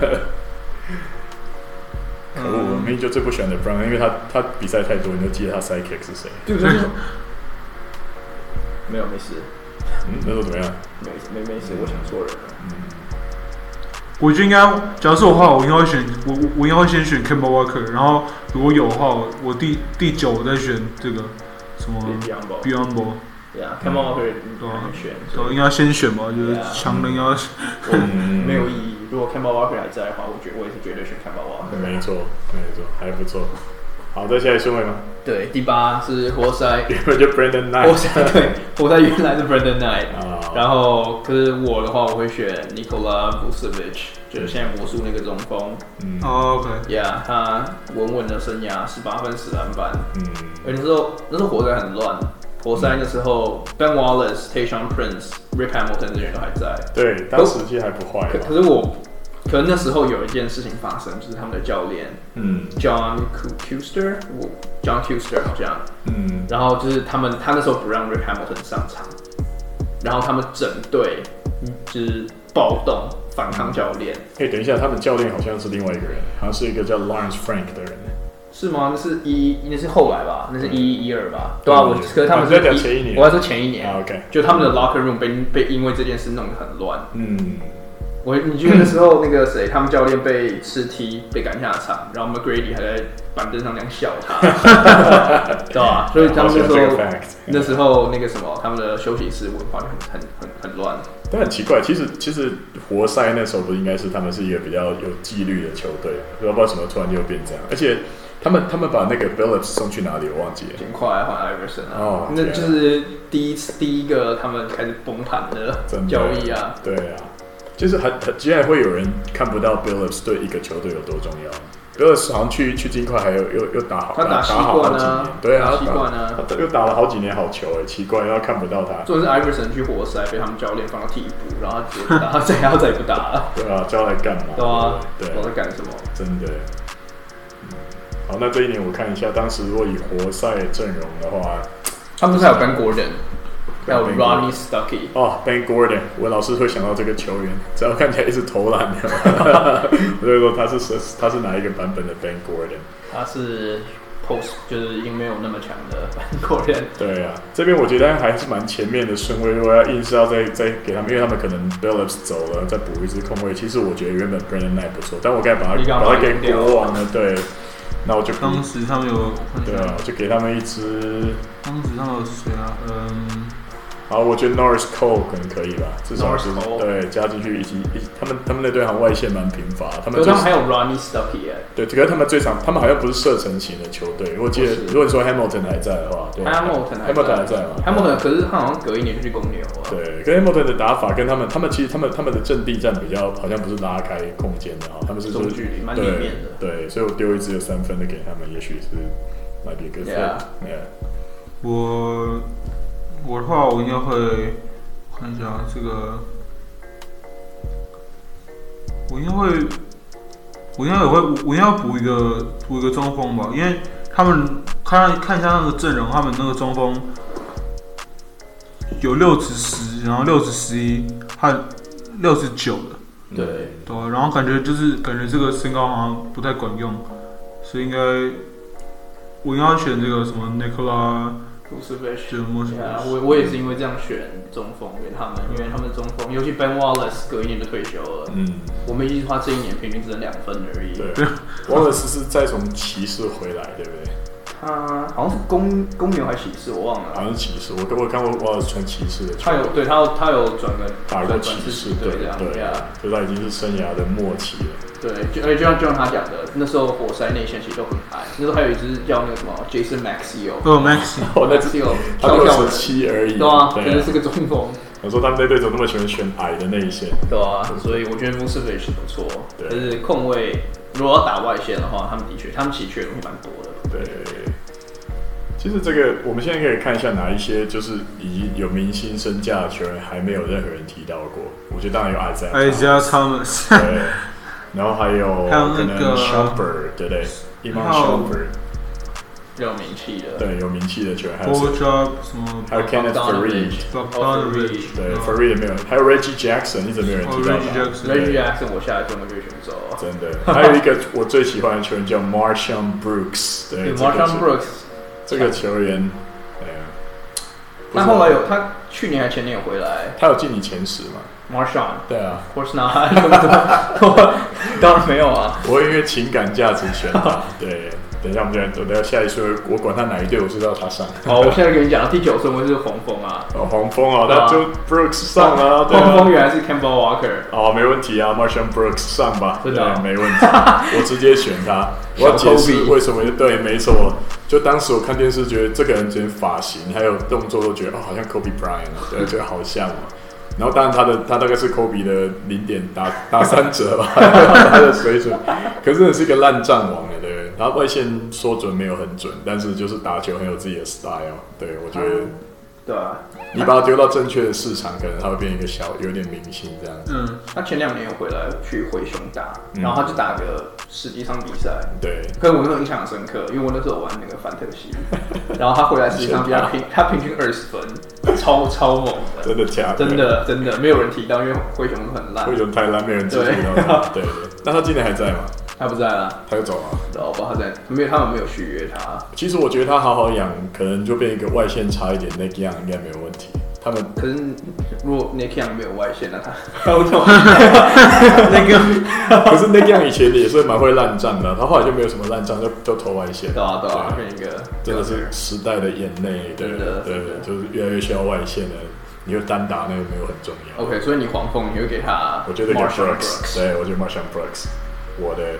可惡，我明明就最不喜歡 LeBron，因為他他比賽太多，你就記得他 sidekick 是誰？ 對不对？沒有，沒事。 嗯，那時候怎麼樣？ 沒沒沒事，我想錯人了。嗯， 我覺得應該，假如是我的話，我應該會選我我應該會先選 Kemba Walker， 然後如果有的話，我第第九我再選這個什麼 Biyombo。 對啊 Kemba Walker 應該選， 對，應該先選吧，就是強人要。 嗯，沒有意義。如果 Kemba Walker 還在的話，我覺我也是絕對選 Kemba Walker。 沒錯，沒錯，還不錯。好，再下來順位嗎？ 對，第八是活塞， 原本就 Brandon Knight。 活塞對，活塞原來是 Brandon Knight，、oh. 然後可是我的話，我會選 Nikola Vucevic，就是現在魔術那個中鋒。嗯、 oh, ，OK， yeah， 他穩穩的生涯，十八分十籃板。嗯，而那時候那時候活塞很亂，活塞那時候 Ben Wallace、Tayshaun Prince、Rip Hamilton 這些人都還在。 對，當時其實還不壞。 可可是我。可能那時候有一件事情發生，就是他們的教練，嗯 ，John Kuester，John Kuester 好像，嗯，然後就是他們，他那時候不讓 Rip Hamilton 上場，然後他們整隊就是暴動反抗教練。 哎、欸，等一下，他們教練好像是另外一個人，好像是一個叫 Lawrence Frank 的人。是嗎？那是一，那是後來吧，那是一一一二吧。對啊，我可是他們是在前一年， 我還說前一年。 啊、OK， 就他們的 locker room 被被因為這件事弄得很亂。嗯。 我你記得那時候那個誰，他們教練被吃踢被趕下場，然後 McGrady 還在板凳上那樣笑他，知道吧？所以他們那時候那時候那個什麼，他們的休息室文化就很很很很亂。 但很奇怪，其實其實活塞那時候不應該是他們是一個比較有紀律的球隊，不知道為什麼突然就變這樣，而且。他們他們把那個 Billups 送去哪裡？我忘記了。盡快換 Iverson 啊！哦，那就是第一次第一個他們開始崩盤的交易啊！ 對啊，就是很很，竟然會有人看不到 Billups 對一個球隊有多重要。Billups 好像去去金塊還有又又打好， 他打西冠啊， 對啊， 打西冠啊， 他又打了好幾年好球哎，奇怪，然後看不到他。 就是 Iverson 去活塞被他們教練放到替補，然後他直接不打，他再然後再也不打了。 對啊，叫來幹嘛？ 對啊， 對， 我在幹什麼？ 真的。好，那這一年我看一下，當時如果以活塞陣容的話， 他們不是還有 Ben Gordon， 還有 Ronnie Stuckey。 哦 ，Ben Gordon， 我老是會想到這個球員，只要看起來一直投籃的，所以說他是他是哪一個版本的 Ben Gordon？ 他是 Post， 就是已經沒有那麼強的 Ben Gordon。 對啊，這邊我覺得還是蠻前面的順位，如果要硬是要再再給他們，因為他們可能 Billups 走了，再補一支空位。其實我覺得原本 Brandon Knight 不錯，但我該把他把他給國王了，對。那我就當時他們有， 對啊，就給他們一支。 當時他們有誰啊？嗯， 好，我覺得 Norris Cole 可能可以吧，至少是對加進去一起一起，他們他們那隊好像外線蠻貧乏，他們他們還有 Ronnie Stuckey 哎， 對，可是他們最常，他們好像不是射程型的球隊，我記得如果你說 Hamilton 還在的話，對 ，Hamilton Hamilton 還在嘛 ？Hamilton 可是他好像隔一年就去公牛了。 對，跟 Hamilton 的打法跟他們，他們其實他們他們的陣地戰比較好像不是拉開空間的哈，他们是中距離蠻裡面的。 对，所以我丟一支有三分的給他們，也許是 might be a good fit。Yeah， 我我的話，我應該會我看一下這個，我應該會，我應該也會，我應該要補一個補一個中鋒吧，因為他們看看一下那個陣容，他們那個中鋒有六尺十，然後六尺十一，和六尺九的。 對對，然後感覺就是感覺這個身高好像不太管用，所以應該我應該要選這個什麼 Nikola Vucevic。 啊，我我也是因為這樣選中鋒給他們，因為他們中鋒，尤其 Ben Wallace 隔一年就退休了。嗯，我們一句話這一年平均只能兩分而已。 對，Wallace 是再從騎士回來，對不對？ 他好像是公公牛還是騎士，我忘了。 好像是騎士，我我看過我穿騎士的球。 他有對他有他有轉個打過騎士隊這樣，對啊，所以他已經是生涯的末期了。 對，就而且就像就像他講的，那時候活塞內線其實都很矮，那時候還有一支叫那個什麼 Jason Maxiell。 哦 Maxiell， 哦那支他六十七而已。 對啊，真的是個中鋒。 我說他們那隊怎麼那麼喜歡選矮的內線？ 對啊，所以我覺得 Vucevic 是不錯，但是控衛如果要打外線的話，他們的確他們其實缺的東西蠻多的。 對。其實這個，我們現在可以看一下哪一些就是已經有明星身價的球員還沒有任何人提到過。我覺得當然有 Isaiah Thomas， 對，然後還有可能 Shumpert， 對不對 Iman Shumpert， 有名氣的， 對，有名氣的球員，還有什麼？ 還有 Kenneth Faried， 對 Faried 沒有，還有 Reggie Jackson， 一直沒有人提到他。 Reggie Jackson 我下來就能被選走。 真的，還有一個我最喜歡的球員叫 Marshawn Brooks， 對 ，Marshawn Brooks。 這個球員，對啊， 他後來有，他去年還前年有回來， 他有進你前十嗎 ？Marshawn， 對啊 ，Of course not， 當然沒有啊。 我因為情感價值選他，對。等一下，我們就等下下一說，我管他哪一隊，我知道他上。 好，我現在跟你講，第九順位是黃蜂啊。 哦，黃蜂啊，那就 Brooks 上啊。 黃蜂原來是 Kemba Walker。 哦，沒問題啊 ，Marshawn Brooks 上吧。 真的， 沒問題，我直接選他。我要解釋為什麼？對，沒錯。就當時我看電視，覺得這個人連髮型還有動作都覺得哦，好像 Kobe Bryant， 對，這個好像嘛。然後當然他的他大概是 Kobe 的零點打打三折吧，他的水準。可是真的是一個爛戰王的，對。他外線說準沒有很準，但是就是打球很有自己的 style。對，我覺得， 對啊， 你把他丟到正確的市場，可能他會變一個小有點明星這樣子。 嗯，他前兩年有回來去灰熊打，然後他就打個十幾場比賽。對，可是我那時候印象很深刻，因為我那時候玩那個范特西，然後他回來十幾場比賽平他平均二十分，超超猛的。 真的假的？ 真的真的沒有人提到，因為灰熊很爛。 灰熊太爛，沒有人提到。對對。那他今年還在嗎？ 他不在了， 他就走了。 我不知道他在，沒有，他們沒有續約他。 其實我覺得他好好養，可能就變一個外線差一點，那個樣應該沒有問題。 他們可是如果 Nick Young 沒有外線，那他那個可是 Nick Young 以前也是蠻會爛仗的，他後來就沒有什麼爛仗，就就投外線。 對啊對啊，變一個真的是時代的眼淚，對对对，就是越来越需要外線了。你就單打那個沒有很重要。 OK， 所以你黄蜂你會給他？ 我覺得給 Brooks， 對，我覺得 Marshall Brooks， 我的。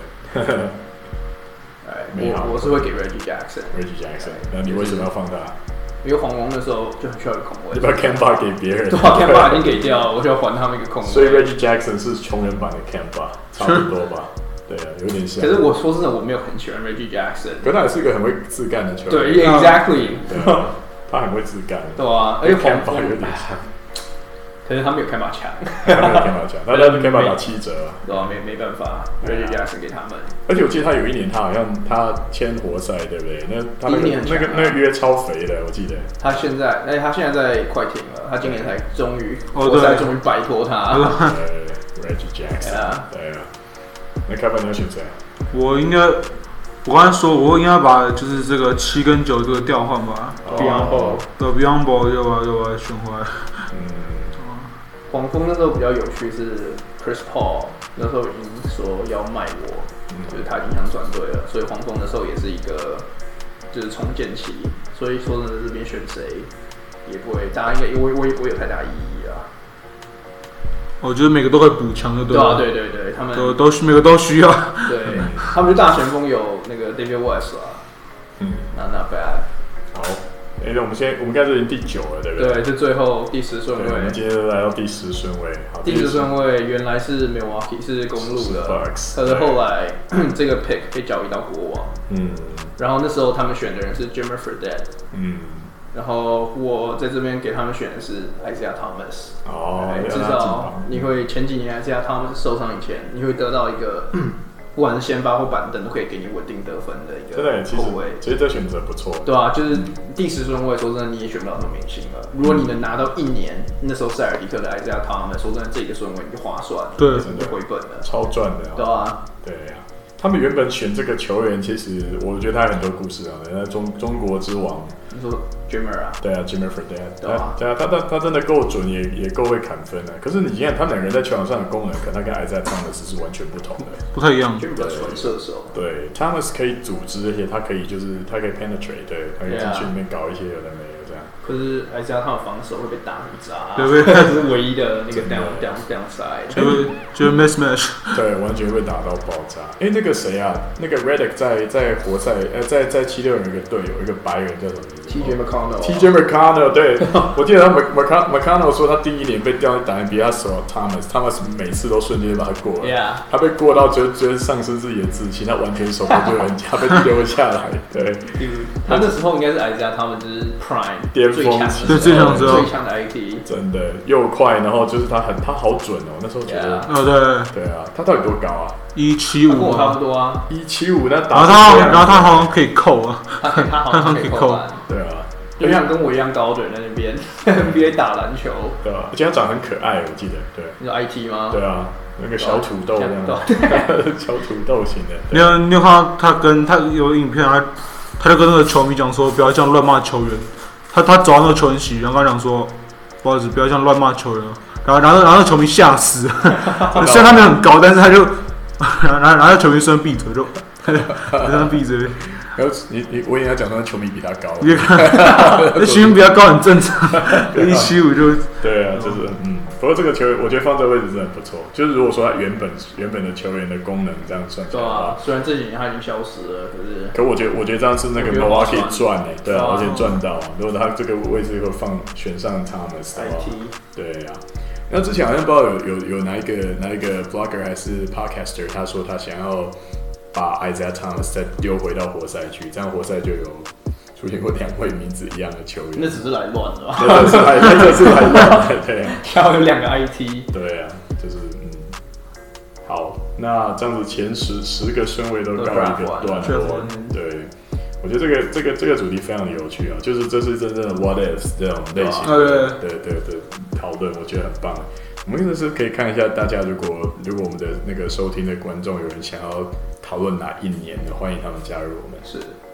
我我是會給 Reggie Jackson。Reggie Jackson， 那你為什麼要放他？ 因為黃蜂那時候就很需要一個空位。 你把 Kemba 給別人。 對啊 ，Kemba 已經給掉了，我就要還他們一個空位。 所以 Reggie Jackson 是窮人版的 Kemba， 差不多吧？對啊，有點像。 可是我說真的，我沒有很喜歡 Reggie Jackson。 可他也是一個很會自幹的球員。 對 ，Exactly。 他很會自幹。 對啊，而且黃蜂有點像。 可是他沒有開馬強， 他沒有開馬強，他他開馬打七折啊， 對啊，沒沒辦法 ，Reggie Jackson 給他們。 而且我記得他有一年，他好像他簽活塞，對不對？那他那個那個那個約超肥的，我記得。 他現在，哎，他現在在快艇了，他今年才終於活塞終於擺脫他。 對 ，Reggie Jackson，對啊。那開發你要選誰？ 我應該，我剛才說，我應該把就是這個七跟九這個調換吧 ，Biyombo， 對 Biyombo 又把又把它選回來。 黃蜂那時候比較有趣是 Chris Paul 那時候已經說要賣我，嗯、就是他已經想轉隊了，所以黃蜂那時候也是一個就是重建期，所以說真的這邊選誰也不會，大家應該我我也不會有太大意義啊。 我覺得每個都會補強的，對吧？ 對對對，他們都都每個都需要。 對，他們就大前鋒有那個 David West 啊，嗯 ，Not not bad。 好。哎、欸，我們現在我們應該是已經第九了，對不對？ 對，就最後第十順位。 我們今天就來到第十順位。好， 第十順位原來是 Milwaukee 是公鹿的，可是後來這個 pick 被交易到國王。嗯。然後那時候他們選的人是 Jimmer Fredette。嗯。然後我在這邊給他們選的是 Isaiah Thomas。哦。至少你會前幾年 Isaiah Thomas 受傷以前，你會得到一個。不管是先發或板凳，都可以給你穩定得分的一個後衛。 其實這選擇不錯。 對啊，就是第十順位，說真的你也選不到什麼明星了。如果你能拿到一年，那時候塞爾迪克的 Isaiah Thomas，說真的這個順位你就划算了， 對， 你就回本了， 超賺的。 對啊， 對啊。他們原本選這個球員，其實我覺得他有很多故事啊。那中中國之王， 你說 Jimmer 啊？ 對啊 ，Jimmer Fredette，對啊，對啊，他他他真的夠準，也也夠會砍分啊。可是你看他們兩個人在球場上的功能，可能他跟 Isaiah Thomas 是完全不同的， 不太一樣。 Jimmer 比較純射手， 對 ，Thomas 可以組織，而且他可以就是他可以 penetrate， 對，他可以進去裡面搞一些有的沒的這樣。 可是 Isaiah 他的防守會被打很渣，對不對？這是唯一的那個 down down downside， 就就 mismatch， 對，完全會打到爆炸。哎，那個誰啊？那個 Redick 在在活塞，呃，在在七六人有一個隊友，一個白人叫什麼名字 ？T J McConnell。 T J McConnell， 對，我記得他 McConnell McConnell 說他第一年被調去打 N B A 的時候 ，Thomas，Thomas 每次都瞬間把他過了。 Yeah。 他被過到覺得覺得喪失自己的自信，他完全守不住人家，被丟下來。對。 他那時候應該是 Isaiah，他們就是 Prime 巔峰期， 對，最強最強的 I T。 真的又快，然後就是他很他好準哦，那時候覺得。 哦，對。 對啊，他到底多高啊？ 一七五， 差不多啊。 一七五，那打。 然後他，然後他好像可以扣啊。 他他好像可以扣。 對啊， 就像跟我一樣高的人在那邊 N B A 打籃球。 對啊，而且他長得很可愛，我記得。对。 你說 I T 嗎？ 對啊，那個小土豆這樣。小土豆型的。 你有你有看到他跟他有影片，他他就跟那個球迷講說，不要這樣亂罵球員。他他走到那個球員席，然後跟他講說，不好意思，不要這樣亂罵球員。然後然後然後那球迷嚇死，雖然他沒有很高，但是他就，然後然後球迷雖然閉嘴就，讓他閉嘴。 然後你你我也要講說球迷比他高， 那球迷比他高很正常，一七五就。 對啊，就是嗯，不過這個球員我覺得放這個位置真的不錯，就是如果說他原本原本的球員的功能這樣算起來的話， 對啊，雖然這幾年他已經消失了，可是。 可我覺得我覺得這樣是那個 Milwaukee 賺哎，對啊，而且賺到，如果他這個位置會放選上 Thomas 的話，對啊。那之前好像不知道有有有哪一個哪一個 blogger 還是 podcaster， 他說他想要把 Isaiah Thomas 再丟回到活塞去，這樣活塞就有出現過兩位名字一樣的球員。 那只是來亂的吧？ 對，這是來，這是來亂的，對啊。 然後有兩個 I T。 對啊，就是嗯，好，那這樣子前十十個順位都告一個段落，對。我覺得這個這個這個主題非常的有趣啊，就是這是真正的 What Ifs 這種類型的，對對對討論，我覺得很棒。我們真的是可以看一下，大家如果如果我們的那個收聽的觀眾有人想要討論哪一年的，歡迎他們加入我們。 是。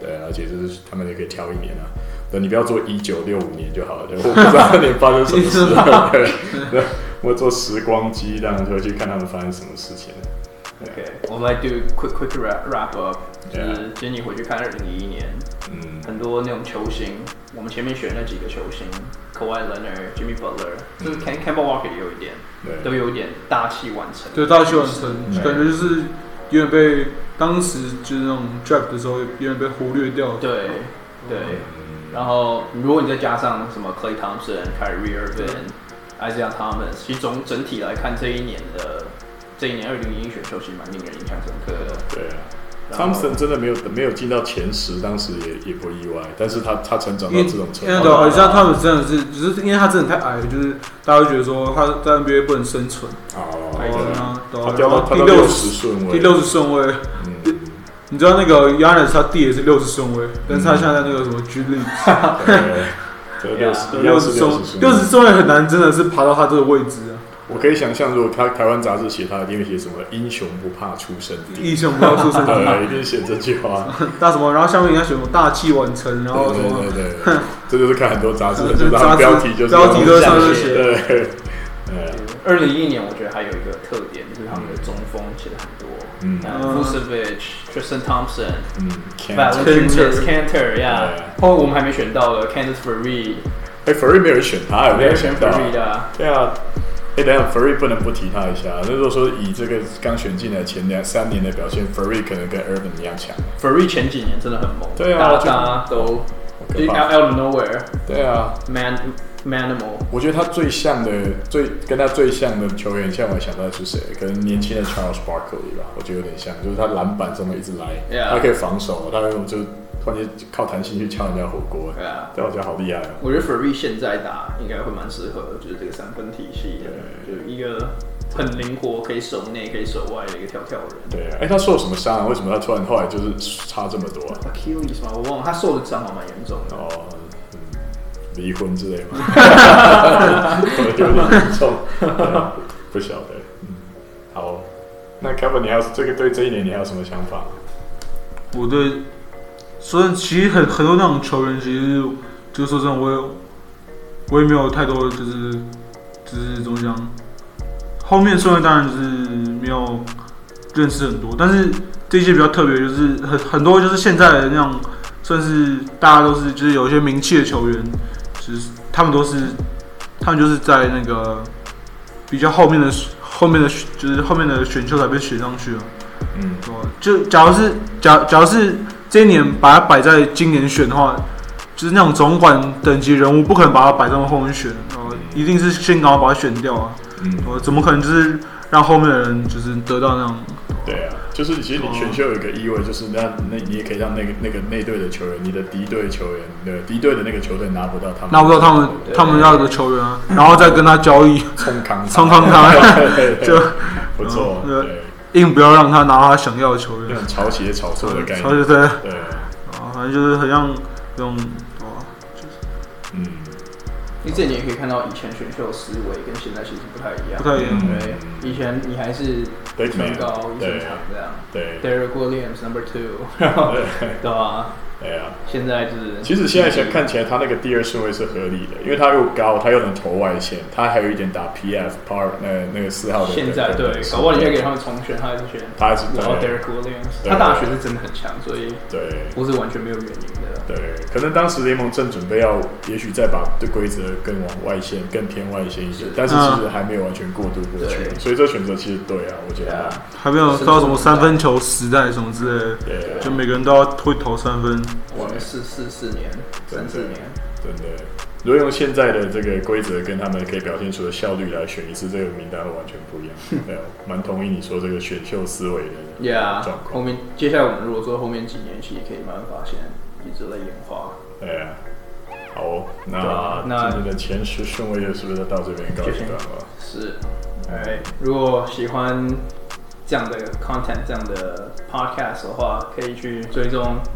對，而且就是他們也可以挑一年啊。對，你不要做一九六五年就好了，對，我不知道那年發生什麼事。對，對，我做時光機，這樣就去看他們發生什麼事情。 OK， 我們來 do quick quick wrap wrap up， 就是今天你回去看二零一一年，嗯，很多那種球星，我們前面選那幾個球星 ，Kawhi Leonard、Jimmy Butler， 就是 Kemba Walker 也有一點，都有一點大器晚成。對， 大器晚成，感覺就是有點被當時就是那種 draft 的時候有點被忽略掉。 對，對。然後如果你再加上什麼 Klay Thompson、Kyrie Irving、Isaiah Thomas， 其實总整體來看這一年的。這一年二零一一選秀其實蠻令人印象深刻的。 對啊 ，Thompson 真的沒有沒有進到前十，當時也也不意外。但是他他成長到這種程度，因為對， 而且他們真的是，只是因為他真的太矮了，就是大家會覺得說他在 N B A 不能生存。 哦， 對啊， 他掉到第六十順位， 第六十順位。嗯，你知道那個 Giannis 他弟也是六十順位，但是他現在那個什麼 G League， 對，六十六十順六十順位很難，真的是爬到他这個位置啊。 我可以想象，如果他台灣雜誌寫他，一定會寫什麼“英雄不怕出身低”， 英雄不怕出身低， 對，一定寫這句話。 大什麼？然後下面應該寫什麼“大器晚成”，然後什麼？ 對對對，這就是看很多雜誌，就是他標題就是標題都是上面寫。 對， 二零一一年我覺得還有一個特點，就是他們的中鋒寫了很多，嗯 ，Vucevic、Tristan Thompson、嗯 Valanciunas、Kanter， 呀，後我們還沒選到的 Kenneth Faried。 哎 ，Faried 沒有人選他，有沒有選到？對啊。哎，等一下 ，Faried 不能不提他一下。那如果說以這個剛選進來前兩三年的表現 ，Faried 可能跟 Irving 一樣強。 Faried 前幾年真的很猛， 對啊， 大家都 out of nowhere。 對啊 ，man manimal。 我覺得他最像的、最跟他最像的球員，像我想到的是誰？可能年輕的 Charles Barkley 吧，我覺得有點像，就是他籃板上面一直來， yeah. 他可以防守，他那種就。突然間靠彈性去敲人家火鍋，對啊，對我覺得好厲害哦。 我覺得 Faried 現在打應該會蠻適合，就是這個三分體系的，就一個很靈活，可以守內可以守外的一個跳跳人。 對啊，哎、欸，他受什麼傷啊？為什麼他突然後來就是差這麼多啊 ？Achilles 嗎？我忘了，他受的傷好蠻嚴重的。哦， 嗯，離婚之類嗎？有點嚴重，不曉得。嗯，好，那 Kevin， 你還有這個對這一年你還有什麼想法？ 我對。所以其實很很多那種球員，其實就說真的，我也我也沒有太多，就是就是怎麼講，後面順位當然就是沒有認識很多，但是這些比較特別，就是很很多就是現在的那種，算是大家都是就是有一些名氣的球員，就是他們都是他們就是在那個比較後面的後面的就是後面的選秀才被選上去了，嗯，就假如是假假如是。這一年把它擺在今年選的話，就是那種總管等級人物，不可能把它擺在後面選，呃，一定是先趕快把它選掉啊。嗯，呃，怎麼可能就是讓後面的人就是得到那種？ 對啊，就是其實你選秀有一個意味，就是那那你也可以讓那個那個內隊的球員，你的敵對球員，對敵對的那個球隊拿不到他們， 拿不到他們他們要的球員啊，然後再跟他交易， 衝康衝康他，就不錯，對。 硬不要讓他拿他想要的球員， 那種炒起也炒錯的概念， 對對對，對，啊，反正就是很像這種，啊，就是， 嗯，因為這你也可以看到以前選秀思維跟現在其實不太一樣， 不太一樣， 對，以前你還是身高一身長這樣， 對 ，Derrick Williams number two， 然後對吧？對啊，現在就是其實現在想看起來他那個第二順位是合理的，因為他又高，他又能投外線，他還有一點打 P F power 那那個四號的。 現在對，搞不好你可以給他們重選，他還是選， 他還是然後 Derrick Williams， 他大學是真的很強，所以對， 不是完全沒有原因的。 對，可能當時聯盟正準備要，也許再把這規則更往外線、更偏外線一些，但是其實還沒有完全過渡過去，所以這選擇其實對啊，我覺得還沒有到什麼三分球時代什麼之類的，對，就每個人都要會投三分。 哇，四四四年，三四年， 真的。如果用現在的這個規則跟他們可以表現出的效率來選一次，這個名單會完全不一樣。對，蠻同意你說這個選秀思維的狀況。Yeah, 後面接下來我們如果說後面幾年，其實可以慢慢發現一直在演化。 對啊，好、哦，那那今天的前十順位是不是到這邊告一段了？ 是，哎，如果喜歡這樣的 content、這樣的 podcast 的話，可以去追蹤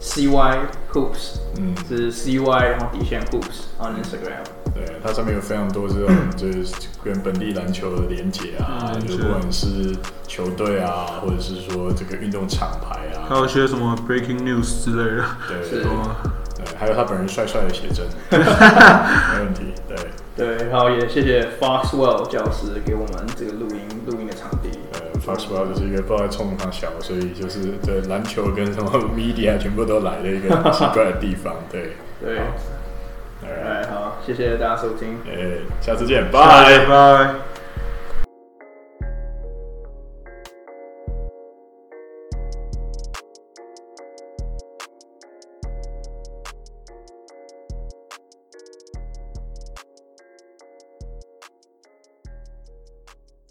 C Y Hoops， 嗯， 是 C Y 然後底線 Hoops on Instagram。 对，它上面有非常多這種就是跟本地籃球的連結啊，嗯、就不管是球隊啊，或者是說這個運動廠牌啊， 還有一些什麼 breaking news 之類的。 對， 是對，還有他本人帥帥的寫真，沒問題。對對，然後也謝謝 Foxwell 教師給我們這個錄音錄音的場地。 呃 ，Foxwell 就是一個不知道在衝他小，所以就是對籃球跟什麼 media 全部都來的一個很奇怪的地方。對對。哎，好，謝謝大家收聽。 哎，下次見，拜拜。